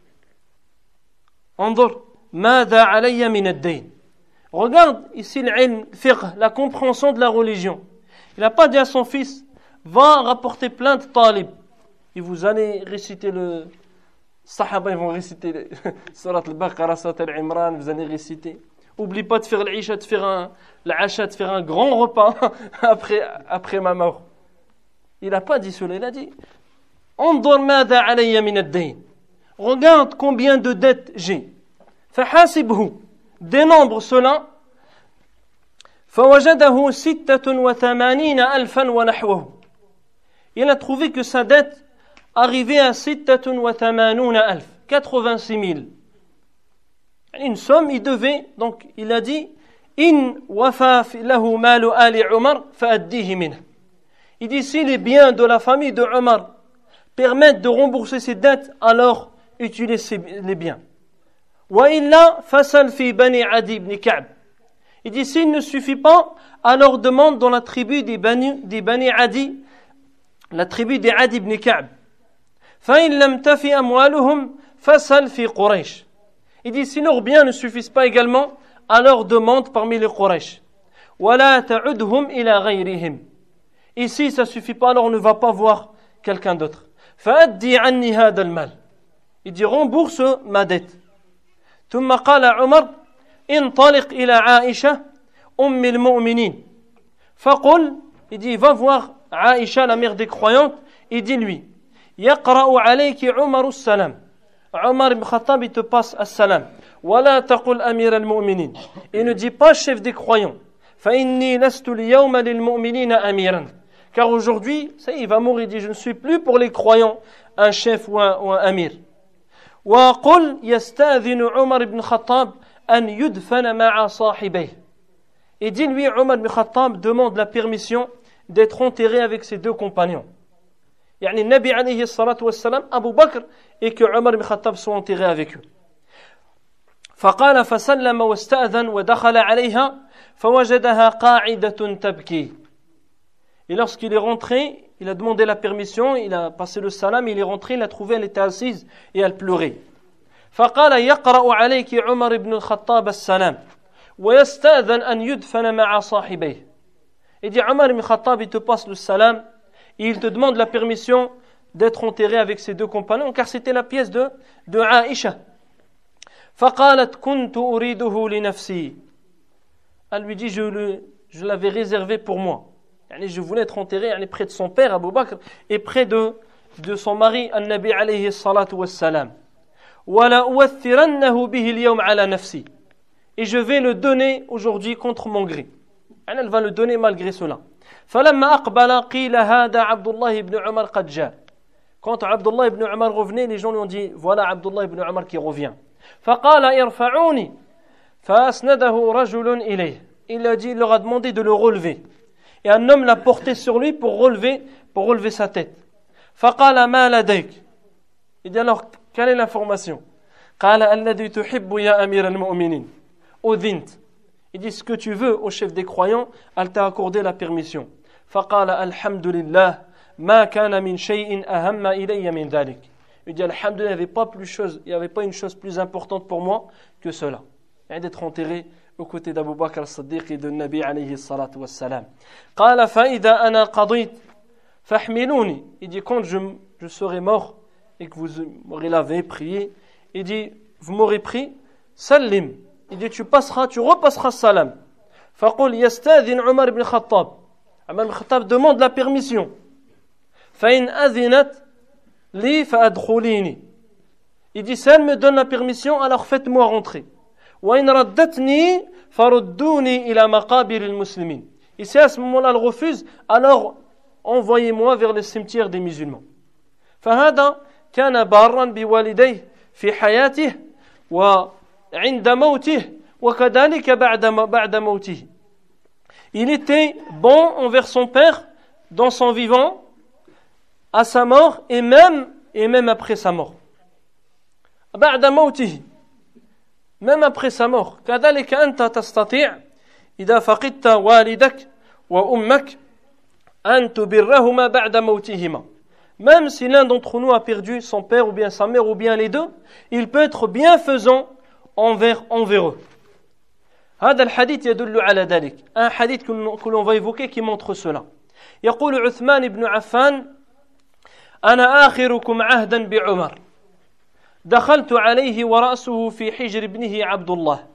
Anzur madha alayya min ad-dayn. Regarde ici l'ilm, fiqh, la compréhension de la religion. Il n'a pas dit à son fils, va rapporter plainte talib. Et vous allez réciter le, Sahaba, ils vont réciter Surat al-Baqarah, Surat al-Imran, vous allez réciter. Oublie pas de faire l'Isha, de faire un, l'Asha, de faire un grand repas après, après ma mort. Il n'a pas dit cela, il a dit Andur mada alayya min ad-dayn. Regarde combien de dettes j'ai. Fahasibhu. Dénombre cela. Fawajadahu sittatun wa thamanina alfan wa nahwahu. Il a trouvé que sa dette arrivait à sittatun wa thamanuna alf, quatre-vingt-six mille. Une somme, il devait, donc il a dit In wafa lahu malu ali Umar fa'addihi minhu. Il dit si les biens de la famille de Omar permettent de rembourser ses dettes, alors utilise les biens. Wa illa fasal fi bani Adi ibn Ka'b. Il dit s'il ne suffit pas, alors demande dans la tribu des Bani, des Bani Adi, la tribu des Adi ibn Ka'b. Fa in lam tafi amwaluhum fasal fi Quraysh. Il dit si leurs biens ne suffisent pas également, alors demande parmi les Quraysh. Wa la ta'udhum ila ghayrihim. Ici ça suffit pas, alors on ne va pas voir quelqu'un d'autre. Fa'addi anni hada al-mal. Il dit rembourse ma dette. ثم قال عمر انطلق إلى عائشة أم المؤمنين فقل, il dit va voir Aïcha, la mère des croyantes, et dis-lui يقرأ عليك عمر السلام. Omar ibn Khattab, il te passe as-salam. ولا تقل أمير المؤمنين. Il ne dit pas chef des croyants. فإني لست اليوم للمؤمنين أميرا. Car aujourd'hui, ça y est, il va mourir, il dit je ne suis plus pour les croyants un chef ou un, ou un amir. وقل يستأذن عمر بن الخطاب أن يدفن مع صاحبيه. Et dis-lui, Omar ibn Khattab demande la permission d'être enterré avec ses deux compagnons. يعني النبي عليه الصلاة والسلام أبو بكر et que Omar ibn Khattab soit enterré avec eux. فقال فسلم واستأذن ودخل عليها فوجدها قاعدة تبكي. Et lorsqu'il est rentré, il a demandé la permission, il a passé le salam, il est rentré, il a trouvé, elle était assise et elle pleurait. فقال يقرأ عليك عمر بن الخطاب السلام ويستأذن أن يدفن مع صاحبيه. Il dit Omar ibn Khattab, il te passe le salam et il te demande la permission d'être enterré avec ses deux compagnons, car c'était la pièce de, de Aïcha. فقالت كنت أريده لنفسي. Elle lui dit je, le, je l'avais réservé pour moi. Je voulais être enterré près de son père Abu Bakr et près de, de son mari An-Nabi alayhi salatu wassalam. وَلَا أُوَثِّرَنَّهُ بِهِ الْيَوْمَ عَلَى نَفْسِي. Et je vais le donner aujourd'hui contre mon gré. Elle va le donner malgré cela. فَلَمَّا أَقْبَلَ قِيلَ هَذَا عَبْدُ اللَّهِ ibn Umar قَدْ جَاءَ. Quand Abdullah ibn Umar revenait, les gens lui ont dit voilà Abdullah ibn Umar qui revient. فَقَالَ إِرْفَعُونِي فَأَسْنَدَهُ رَجُلٌ إِلَيْهِ. Il a dit, il leur a demandé de le relever. Et un homme l'a porté sur lui pour relever, pour relever sa tête. فقال ما لديك. Il dit alors, quelle est l'information? قال الذي تحب يا أمير المؤمنين أذنت. Il dit ce que tu veux au chef des croyants, elle t'a accordé la permission. فقال الحمد لله ما كان من شيء أهم إلي من ذلك. Il dit alhamdulillah, il n'y avait pas plus chose, il n'y avait pas une chose plus importante pour moi que cela, et d'être enterré aux côtés d'Abu Bakr as-Siddiq et de Nabi alayhi salatu wassalam. قال فإذا أنا قضيت فاحملوني. Il dit quand je, je serai mort et que vous m'aurez lavé, prié, il dit vous m'aurez pris, salim. Il dit tu passeras, tu repasseras salam. فقل يستأذن عمر بن الخطاب. Omar ibn Khattab demande la permission. فإن أذنت لي فأدخليني. Il dit si elle me donne la permission, alors faites-moi rentrer. وإن ردتني فردوني إلى مقابر المسلمين. Et si à ce moment-là elle refuse, alors envoyez-moi vers le cimetière des musulmans. فهذا كان بارا بوالديه في حياته وعند موته وكذلك بعد بعد موته. Il était bon envers son père dans son vivant, à sa mort et même et même après sa mort. بعد موته. Même après sa mort. كذلك أنت تستطيع إذا فقدت والدك وأمك أن تبرهما بعد موتهما. Même si l'un d'entre nous a perdu son père ou bien sa mère ou bien les deux, il peut être bienfaisant envers, envers eux. هذا الحديث يدل على ذلك. Un hadith que l'on va évoquer qui montre cela. يقول عثمان بن عفان أنا آخركم عهدا بعمر. دخلت عليه ورأسه في حجر ابنه عبد الله.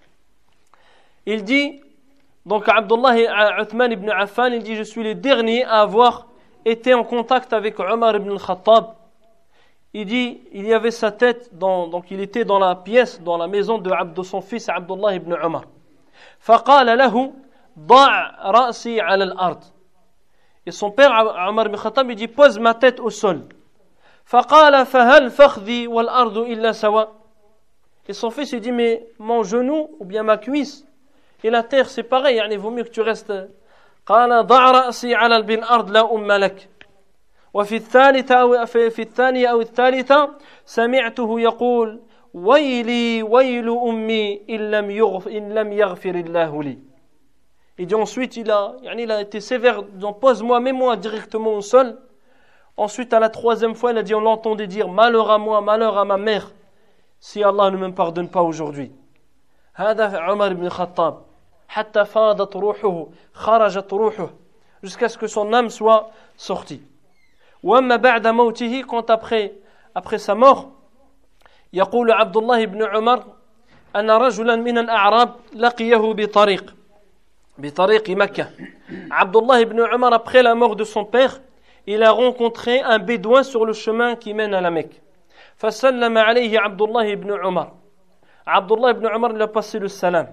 Il dit, donc Abdullah Uthman ibn Affan, il dit, je suis le dernier à avoir été en contact avec Omar ibn al-Khattab. Il dit, il y avait sa tête, dans, donc il était dans la pièce, dans la maison de, de son fils Abdullah ibn Omar. فقال له ضع رأسي على الأرض. Et son père Omar ibn Khattab, il dit, pose ma tête au sol. فقال فهل فخذي والأرض إلا سواء. Et son fils il dit, mais mon genou ou bien ma cuisse et la terre c'est pareil, يعني vaut mieux que tu restes. قال ضع رأسي على الأرض لا أم لك. وفي الثالثة أو في الثانية أو الثالثة سمعته يقول ويلي ويل أمي إن لم يغفر إن لم يغفر الله لي. Et dit ensuite il a, il a été sévère, donc pose-moi, mets-moi directement au sol. Ensuite à la troisième fois il a dit, on l'entendait dire malheur à moi, malheur à ma mère si Allah ne me pardonne pas aujourd'hui. هذا عمر بن الخطاب حتى فاضت روحه خرجت روحه jusqu'à ce que son âme soit sortie. وأما بعد موته, quand après après sa mort, يقول عبد الله بن عمر أن رجلا من الأعراب لقيه بطريق بطريق مكة. Abdullah ibn Umar, après la mort de son père, il a rencontré un bédouin sur le chemin qui mène à la Mecque. فسلم عليه عبد الله بن عمر. Abdullah ibn Umar lui a passé le salam.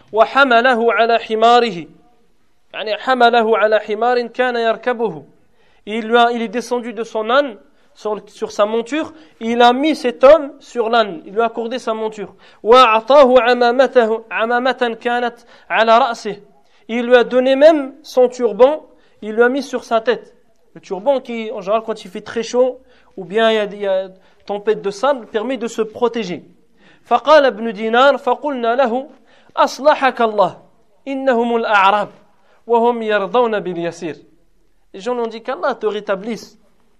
وحمله على حماره. يعني حمله على حمار كان يركبه. Il, lui a, il est descendu de son âne sur, sur sa monture. Il a mis cet homme sur l'âne. Il lui a accordé sa monture. وأعطاه عمامته عمامة كانت على رأسه. Il lui a donné même son turban. Il lui a mis sur sa tête. Le turban qui, en général, quand il fait très chaud, ou bien il y a, il y a tempête de sable, permet de se protéger. فقال ابن دينار فقلنا له أصلحك الله إنهم الأعراب وهم يرضون باليسير. Les gens lui ont dit qu'Allah te rétablisse.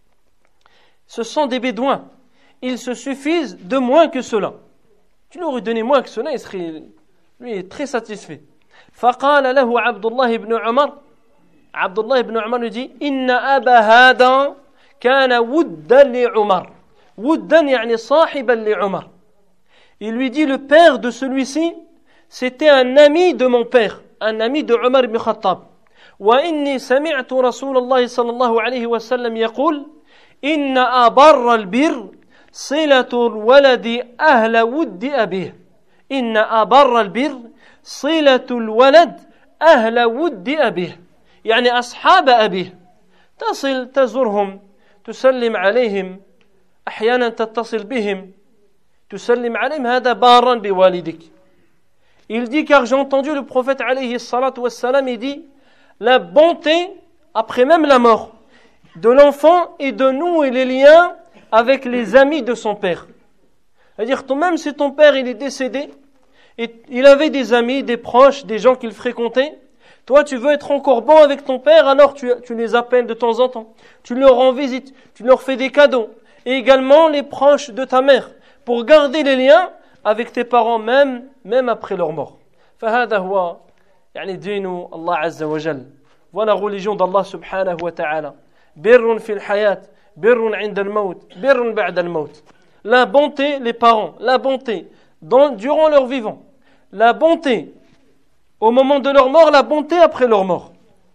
Ce sont des bédouins. Ils se suffisent de moins que cela. Tu leur aurais donné moins que cela, il serait lui est très satisfait. فقال له عبد الله بن عمر. Abdullah ibn Umar lui dit إن أبا هذا كان ودا لعمر. ودا يعني صاحبا لعمر. Il lui dit, le père de celui-ci, c'était un ami de mon père, un ami de Omar ibn Khattab. وإني سمعت رسول الله صلى الله عليه وسلم يقول إن أبر البر صلة الولد أهل ود أبيه. إن أبر البر صلة الولد أهل ود أبيه. يعني أصحاب أبيه. تصل تزورهم تسلم عليهم أحيانا تتصل بهم تسلم عليهم هذا بارا بوالدك. Il dit, car j'ai entendu le prophète alayhi salatu wassalam, il dit, la bonté après même la mort de l'enfant et de nous et les liens avec les amis de son père. C'est-à-dire, même si ton père il est décédé et il avait des amis, des proches, des gens qu'il fréquentait, toi tu veux être encore bon avec ton père, alors tu, tu les appelles de temps en temps, tu leur rends visite, tu leur fais des cadeaux, et également les proches de ta mère, pour garder les liens avec tes parents même, même après leur mort. فهذا هو يعني دين الله عز وجل. Voilà la religion d'Allah subhanahu wa ta'ala. بر في الحياة, بر عند الموت, بر بعد الموت. La bonté, les parents, la bonté dans, durant leur vivant, la bonté au moment de leur mort, la bonté après leur mort.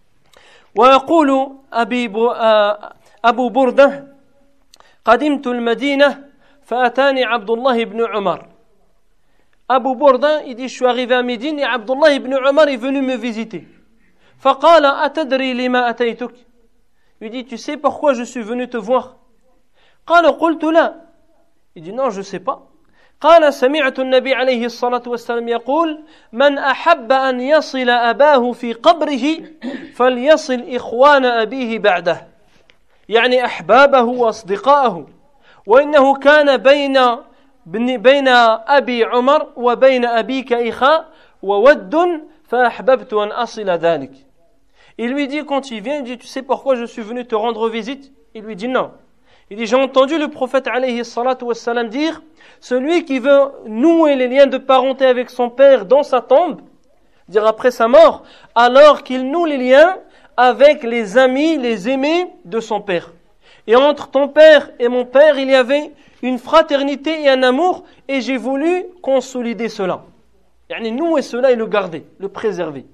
ويقول أبي أبو بردة قدمت المدينة فأتاني عبد الله بن عمر. Abu Burda, il dit, je suis arrivé à Médine et Abdullah ibn Umar est venu me visiter. فقال أتدري لما أتيتك. Il dit, tu sais pourquoi je suis venu te voir? قال قلت لا. Il dit, non, je sais pas. قال سمعت النبي عليه الصلاة والسلام يقول من أحب أن يصل أباه في قبره فليصل إخوان أبيه بعده. يعني أحبابه وأصدقائه. وإنه كان بين بين أبي عمر وبين أبيك إخاء وود فأحببت أن أصل ذلك. Il lui dit, quand il vient, il dit, tu sais pourquoi je suis venu te rendre visite? Il lui dit non. Il dit, j'ai entendu le prophète alayhi salatu wassalam dire, celui qui veut nouer les liens de parenté avec son père dans sa tombe, dire après sa mort, alors qu'il noue les liens avec les amis, les aimés de son père. Et entre ton père et mon père, il y avait une fraternité et un amour, et j'ai voulu consolider cela. يعني nouer cela et le garder, le préserver.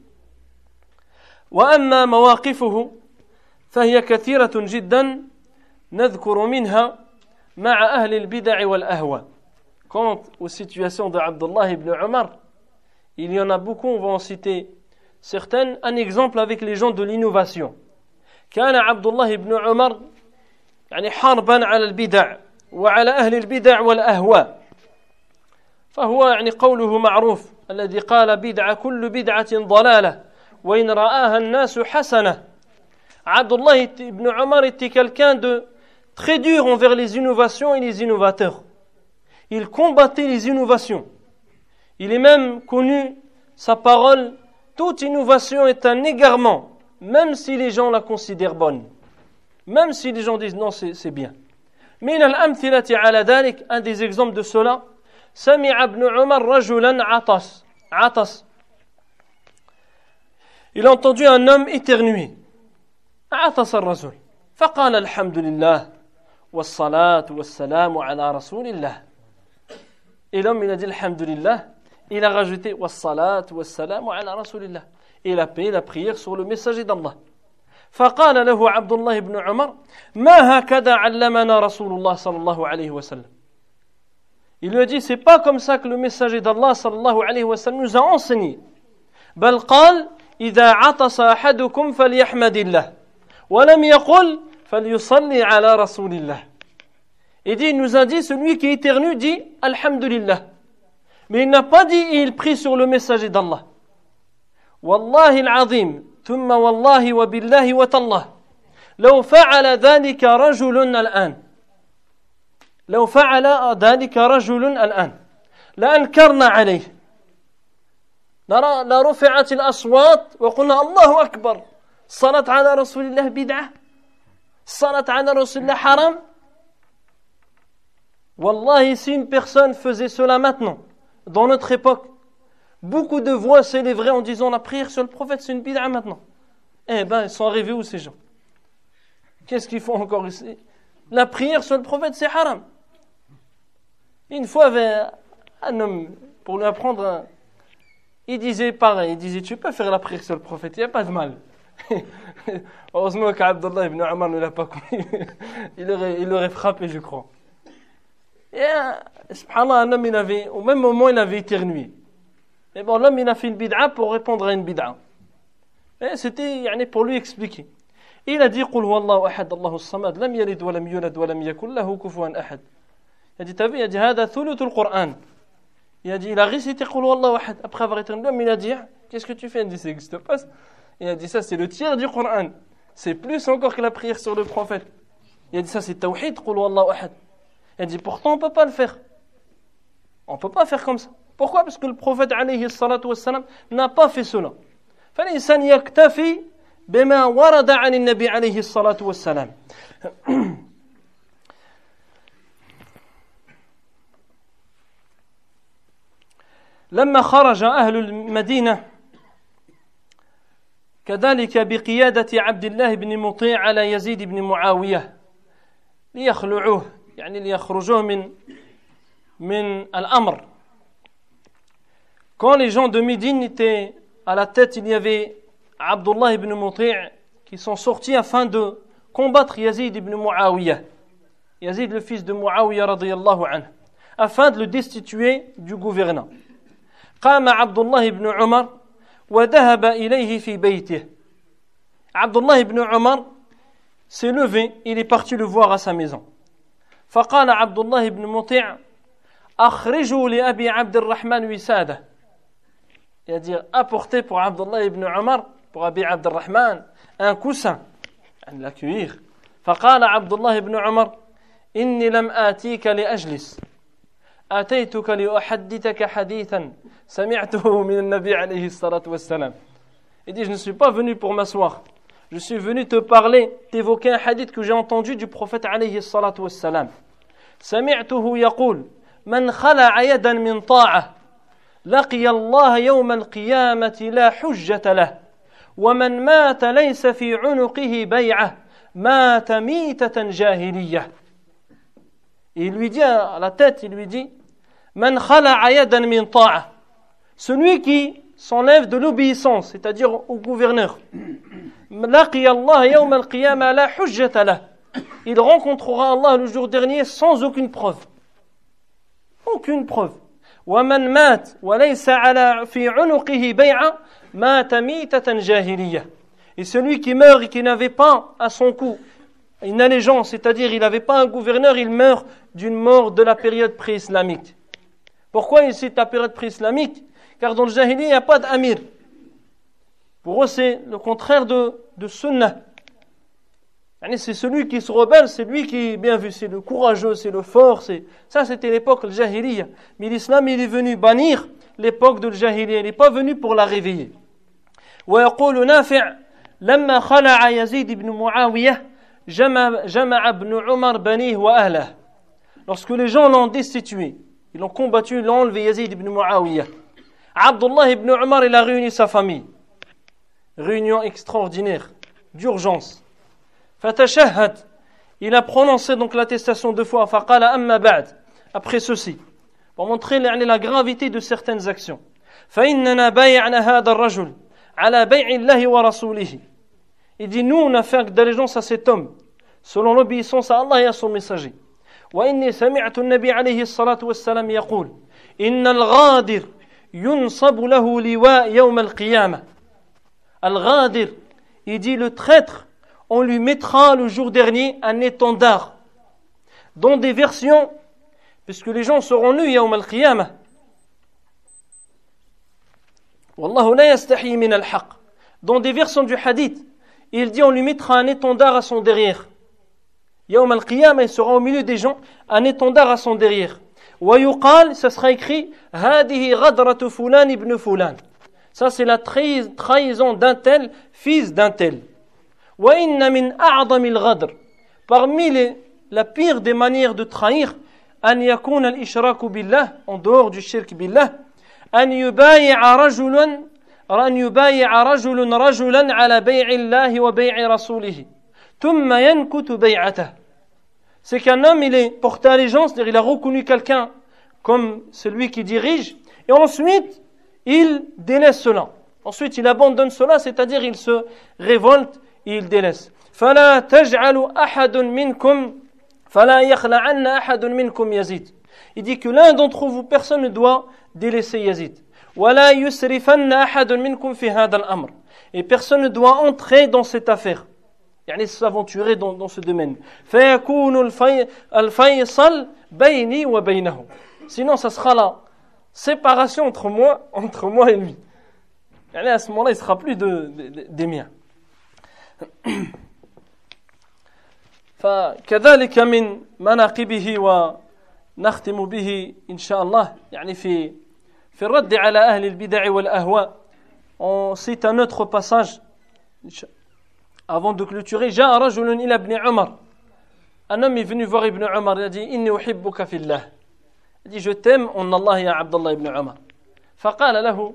وأما مواقفه فهي كثيرة جدا نذكر منها مع أهل البدع والأهواء. Quant aux situations de Abdullah ibn Omar, il y en a beaucoup, on va en citer certaines. Un exemple avec les gens de l'innovation. كان عبد الله بن عمر يعني حربا على البدع وعلى أهل البدع والأهواء. فهو يعني قوله معروف الذي قال بدعة كل بدعة ضلالة وإن رآها الناس حسنة. Abdullah ibn Omar était quelqu'un de très dur envers les innovations et les innovateurs. Il combattait les innovations. Il est même connu, sa parole, toute innovation est un égarement, même si les gens la considèrent bonne. Même si les gens disent non, c'est, c'est bien. من الأمثلة على ذلك, un des exemples de cela, سمع ابن عمر رجلا عطس عطس. Il a entendu un homme éternuer. عطس الرجل فقال الحمد لله والصلاة والسلام على رسول الله. Et l'homme il a dit alhamdulillah, il a rajouté wassalat wassalamu ala rasulillah, et il a payé la prière sur le messager d'Allah. فقال له عبد الله بن عمر ما هكذا علمنا رسول الله صلى الله عليه وسلم. Il lui a dit c'est pas comme ça que le messager d'Allah صلى الله عليه وسلم nous a enseigné. بل قال إذا عطس أحدكم فليحمد الله ولم يقل فليصلي على رسول الله. Il dit, il nous a dit, celui qui éternue dit Alhamdulillah. Mais il n'a pas dit, il prie sur le messager d'Allah. Wallahi al-azim, thumma wallahi wa billahi wa tallah. لو فعل ذلك رجل الآن لو فعل ذلك رجل الآن لأنكرنا عليه لرفعت الأصوات وقلنا الله أكبر. الصلاة على رسول الله بدعة. الصلاة على رسول الله حرام. Wallahi, si une personne faisait cela maintenant, dans notre époque, beaucoup de voix s'élèveraient en disant la prière sur le prophète, c'est une bid'a maintenant. Eh ben, ils sont arrivés où ces gens? Qu'est-ce qu'ils font encore ici? La prière sur le prophète, c'est haram. Une fois, il y avait un homme, pour lui apprendre, un... il disait pareil, il disait, tu peux faire la prière sur le prophète, il n'y a pas de mal. Heureusement qu'Abdullah ibn Omar ne l'a pas connu. il, aurait, il aurait frappé, je crois. Et subhanallah, un homme, il avait, au même moment, il avait éternué. Et bon, l'homme, il a fait une bid'a pour répondre à une bid'a. Et c'était yani, pour lui expliquer. Et il a dit, قُلْ هُوَ اللَّهُ أَحَدٌ اللَّهُ الصَّمَدُ لَمْ يَلِدْ وَلَمْ يُولَدْ وَلَمْ يَكُنْ لَهُ كُفُوًا أَحَدٌ. Il a dit, t'as vu, il a dit, هذا ثلث القرآن. Il a dit, il a récité قُلْ هُوَ اللَّهُ أَحَدٌ. Après avoir éternué, l'homme, il a dit, qu'est-ce que tu fais? Il a dit, ça n'existe pas. Il a dit, ça, c'est le tiers du Coran. C'est plus encore que la prière sur le prophète. Il a dit, ça, c'est tawhid, قُلْ هُوَ اللَّهُ أَحَدٌ. Il a dit, pourtant, on ne peut pas le faire. On ne peut pas faire comme ça. Pourquoi? Parce que le prophète alayhi salatu wassalam n'a pas fait cela. فالإنسان يكتفي بما ورد عن النبي عليه الصلاة والسلام. لما خرج أهل المدينة كذلك بقيادة عبد الله بن مطيع على يزيد بن معاوية ليخلعوه يعني ليخرجوه من من الأمر. Quand les gens de Médine étaient à la tête, il y avait Abdullah ibn Muti' qui sont sortis afin de combattre Yazid ibn Muawiyah. Yazid, le fils de Muawiyah radiyallahu anhu, afin de le destituer du gouvernement. قام عبد الله بن عمر وذهب إليه في بيته. Abdullah ibn Umar s'est levé, il est parti le voir à sa maison. فقال عبد الله بن مطيع أخرجوا لأبي عبد الرحمن وسادة. Il a dit apportez pour Abdullah ibn Umar, pour Abi Abd al-Rahman, un coussin, l'accueillir. فقال عبد الله بن عمر إني لم آتيك لأجلس آتيتك لأحدثك حديثا سمعته من النبي عليه الصلاة والسلام. Il dit je ne suis pas venu pour m'asseoir, je suis venu te parler, t'évoquer un hadith que j'ai entendu du prophète عليه الصلاة والسلام. سمعته يقول من خلع يدا من طاعة لقي الله يوم القيامة لا حجة له ومن مات ليس في عنقه بيعة مات ميتة جاهلية. Et il lui dit à la tête, il lui dit من خلع يدا من طاعة, celui qui s'enlève de l'obéissance, c'est-à-dire au gouverneur. لقي الله يوم القيامة لا حجة له, il rencontrera Allah le jour dernier sans aucune preuve. Aucune preuve. ومن مات وليس على في عنقه بيعة مات ميتة جاهلية. Et celui qui meurt et qui n'avait pas à son cou une allégeance, c'est-à-dire il n'avait pas un gouverneur, il meurt d'une mort de la période pré-islamique. Pourquoi il cite la période pré-islamique? Car dans le Jahili, il n'y a pas d'amir. Pour eux, c'est le contraire de, de sunnah. C'est celui qui se rebelle, c'est lui qui est bien vu, c'est le courageux, c'est le fort. C'est... Ça, c'était l'époque du Jahiliya. Mais l'islam, il est venu bannir l'époque du Jahiliya. Il n'est pas venu pour la réveiller. ويقول نافع لما خلع يزيد بن معاوية جمع جمع ابن عمر بنيه وأهله. Lorsque les gens l'ont destitué, ils l'ont combattu, ils l'ont enlevé, Yazid ibn Muawiyah. Abdullah ibn Umar, il a réuni sa famille. Réunion extraordinaire, d'urgence. Fatashahhad, il a prononcé donc l'attestation deux fois. Faqala amma ba'd, après ceci, pour montrer la gravité de certaines actions. فإننا بايعنا هذا الرجل على بيع الله ورسوله. Il dit, nous on a fait d'allégeance à cet homme, selon l'obéissance à Allah et à son messager. وإني سمعت النبي عليه الصلاة والسلام يقول إن الغادر ينصب له لواء يوم القيامة. Al-Ghadir, il dit le traître, on lui mettra le jour dernier un étendard. Dans des versions, puisque les gens seront nus yawm al-qiyamah. Wallahu la yastahi min al-haq. Dans des versions du hadith, il dit on lui mettra un étendard à son derrière. Yawm al-qiyamah, il sera au milieu des gens, un étendard à son derrière. Wa yuqal, ça sera écrit hadihi ghadratu fulan ibn fulan. Ça, c'est la trahison d'un tel, fils d'un tel. وَإِنَّ مِنْ أَعْظَمِ الْغَدْرِ. Parmi les, la pire des manières de trahir, أَنْ يَكُونَ الْإِشْرَاكُ بِاللَّهِ, en dehors du shirk billah, أَنْ يُبَايِعَ رَجُلًا أَنْ يُبَايِعَ رَجُلٌ رَجُلًا عَلَى بَيْعِ اللَّهِ وَبَيْعِ رَسُولِهِ ثُمَّ يَنْكُتُ بَيْعَتَهُ. C'est qu'un homme, il est porté allégeance, c'est-à-dire il a reconnu quelqu'un comme celui qui dirige, et ensuite, il délaisse cela. Ensuite, il abandonne cela, c'est-à-dire il se révolte et il délaisse. فَلَا تَجْعَلُ أَحَدٌ مِنْكُمْ فَلَا يَخْلَعَنَّ أَحَدٌ مِنْكُمْ يَزِيد. Il dit que l'un d'entre vous, personne ne doit délaisser Yazid. وَلَا يُسْرِفَنَّ أَحَدٌ مِنْكُمْ فِي هَذَا الْأَمْرِ. Et personne ne doit entrer dans cette affaire. يعني s'aventurer dans, dans ce domaine. فَيَكُونُ الْفَيْصَلْ بَيْنِي وَبَيْنَهُ. Sinon, ça sera là. Séparation entre moi, entre moi et lui. Et à ce moment-là, il ne sera plus de, de, de, des miens. فكذلك من مناقبه ونختم به إن شاء الله يعني في في الرد على أهل البدع والأهواء. On cite un autre passage avant de clôturer. جاء رجل إلى ابن عمر. Un homme est venu voir Ibn Umar, il a dit إني أحبك في الله. Il dit je t'aime en Allah ya Abdullah ibn Umar. فقال له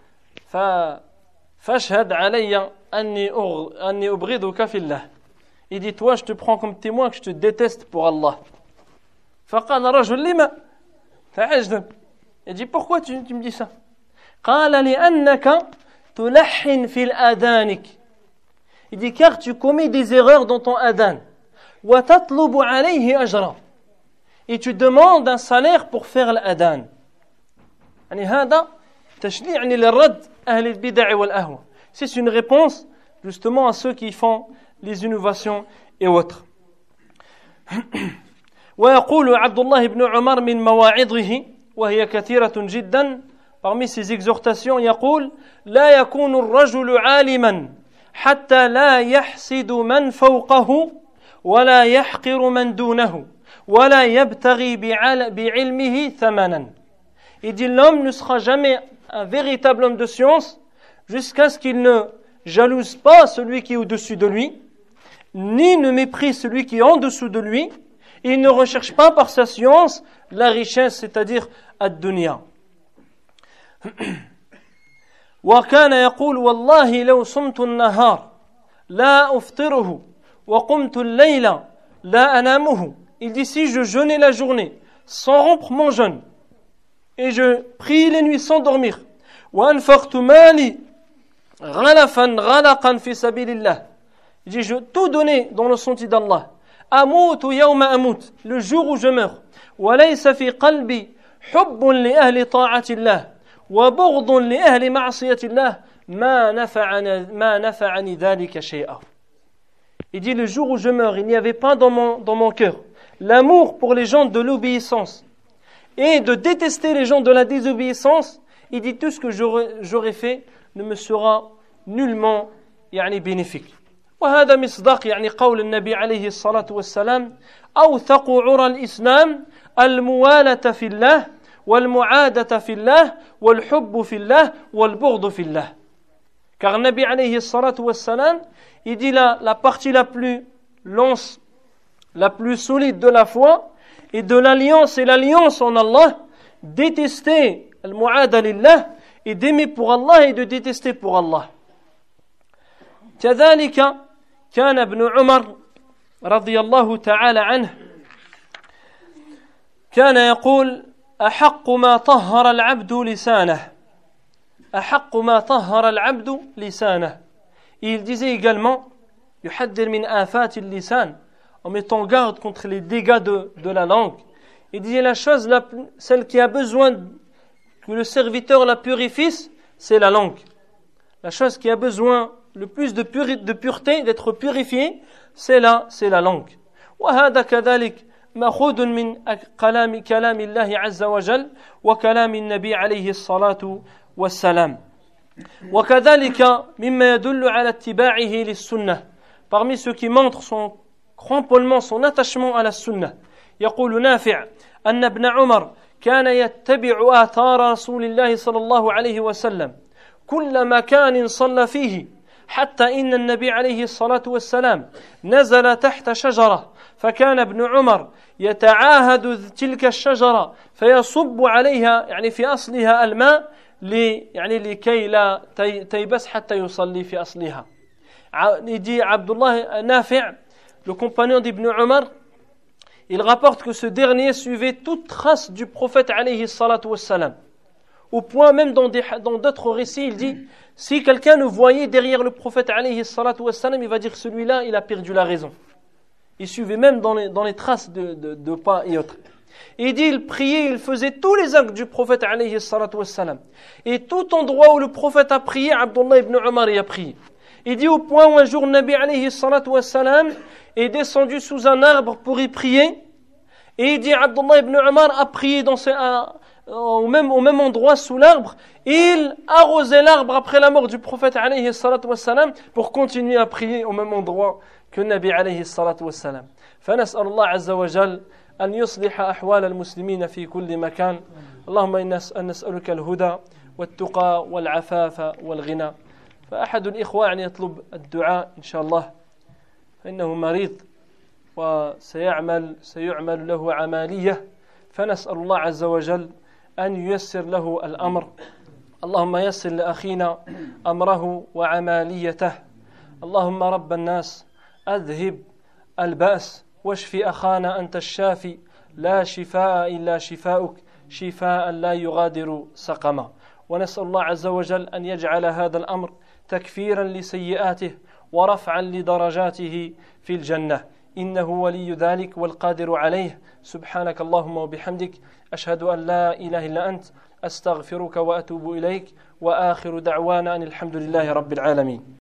فاشهد علي أني أني أبغضك في الله. Il dit toi je te prends comme témoin que je te déteste pour Allah. فقال رجل لما تعجب. Il dit pourquoi tu, tu me dis ça? قال لأنك تلحن في الآذانك. Il dit car tu commets des erreurs dans ton adhan. وتطلب عليه أجرا. Et tu demandes un salaire pour faire l'adhan. يعني هذا تشنيع للرد أهل البدع والأهواء. C'est une réponse justement à ceux qui font les innovations et autres. ويقول عبد الله بن عمر من مواعظه وهي كثيرة جدا. Parmi ses exhortations يقول لا يكون الرجل عالما حتى لا يحسد من فوقه ولا يحقر من دونه ولا يبتغي بعلمه ثمنا. Il dit l'homme ne sera jamais un véritable homme de science jusqu'à ce qu'il ne jalouse pas celui qui est au-dessus de lui, ni ne méprise celui qui est en dessous de lui, et il ne recherche pas par sa science la richesse, c'est-à-dire ad-dunya. وكان يقول والله لو صمت النهار لا أفطره وقمت الليل لا أنامه. Il dit si je jeûnais la journée sans rompre mon jeûne et je prie les nuits sans dormir. وأنفقت مالي غلفا غلقا في سبيل الله. Il dit je tout donné dans le sentier d'Allah. أموت يوم أموت, le jour où je meurs. وليس في قلبي حب لأهل طاعة الله وبغض لأهل معصية الله ما نفعني ما نفعني ذلك شيئا. Il dit le jour où je meurs, il n'y avait pas dans mon, dans mon cœur l'amour pour les gens de l'obéissance et de détester les gens de la désobéissance. Il dit tout ce que j'aurais, j'aurais fait ne me sera nullement يعني bénéfique. وهذا مصداق يعني قول النبي عليه الصلاة والسلام أوثق عرى الإسلام الموالة في الله والمعادة في الله والحب في الله والبغض في الله. Car Nabi alayhi salatu wassalam, il dit la, la partie la plus lance, la plus solide de la foi et de l'alliance et l'alliance en Allah, détester al-mu'ada lillah et d'aimer pour Allah et de détester pour Allah. كذلك كان ابن عمر رضي الله تعالى عنه كان يقول أحق ما طهر العبد لسانه أحق ما طهر العبد لسانه. Il disait également يحذر من آفات اللسان, en mettant garde contre les dégâts de, de la langue. Il disait la chose, la, celle qui a besoin que le serviteur la purifie, c'est la langue. La chose qui a besoin le plus de, puri, de pureté, d'être purifiée, c'est la, c'est la langue. وهذا كذلك مأخوذ من كلام كلام الله عز وجل وكلام النبي عليه الصلاة والسلام. وكذلك مما يدل على اتباعه للسنة, parmi ceux qui montrent son cramponnement, son attachement à la sunna. يقول نافع أن ابن عمر كان يتبع آثار رسول الله صلى الله عليه وسلم كل مكان صلى فيه حتى إن النبي عليه الصلاة والسلام نزل تحت شجرة فكان ابن عمر يتعاهد تلك الشجرة فيصب عليها يعني في أصلها الماء لي يعني لكي لا تيبس حتى يصلي في أصلها. Il dit Abdullah Nafi', le compagnon d'Ibn Umar, il rapporte que ce dernier suivait toute trace du prophète alayhi salatu wassalam. Au point même dans, des, dans d'autres récits, il dit si quelqu'un le voyait derrière le prophète alayhi salatu wassalam, il va dire celui-là, il a perdu la raison. Il suivait même dans les, dans les traces de, de, de pas et autres. Et il dit il priait, il faisait tous les actes du prophète alayhi salatu wassalam. Et tout endroit où le prophète a prié, Abdullah ibn Umar y a prié. Il dit au point où un jour Nabi alayhi salatu wassalam est descendu sous un arbre pour y prier. Et il dit Abdullah ibn Umar a prié dans ses, à, au, même, au même endroit sous l'arbre. Et il arrosait l'arbre après la mort du prophète alayhi salatu wassalam pour continuer à prier au même endroit que Nabi alayhi salatu wassalam. فنسأل الله عز وجل أن يصلح أحوال المسلمين في كل مكان. اللهم إنا نسألك الهدى والتقى والعفاف والغنى. فأحد الإخوة يعني يطلب الدعاء إن شاء الله فإنه مريض وسيعمل سيعمل له عملية فنسأل الله عز وجل أن ييسر له الأمر. اللهم يسر لأخينا أمره وعمليته. اللهم رب الناس أذهب البأس واشفي أخانا أنت الشافي لا شفاء إلا شفاؤك شفاء لا يغادر سقما. ونسأل الله عز وجل أن يجعل هذا الأمر تكفيرا لسيئاته ورفعا لدرجاته في الجنة إنه ولي ذلك والقادر عليه. سبحانك اللهم وبحمدك أشهد أن لا إله إلا أنت أستغفرك وأتوب إليك وآخر دعوانا أن الحمد لله رب العالمين.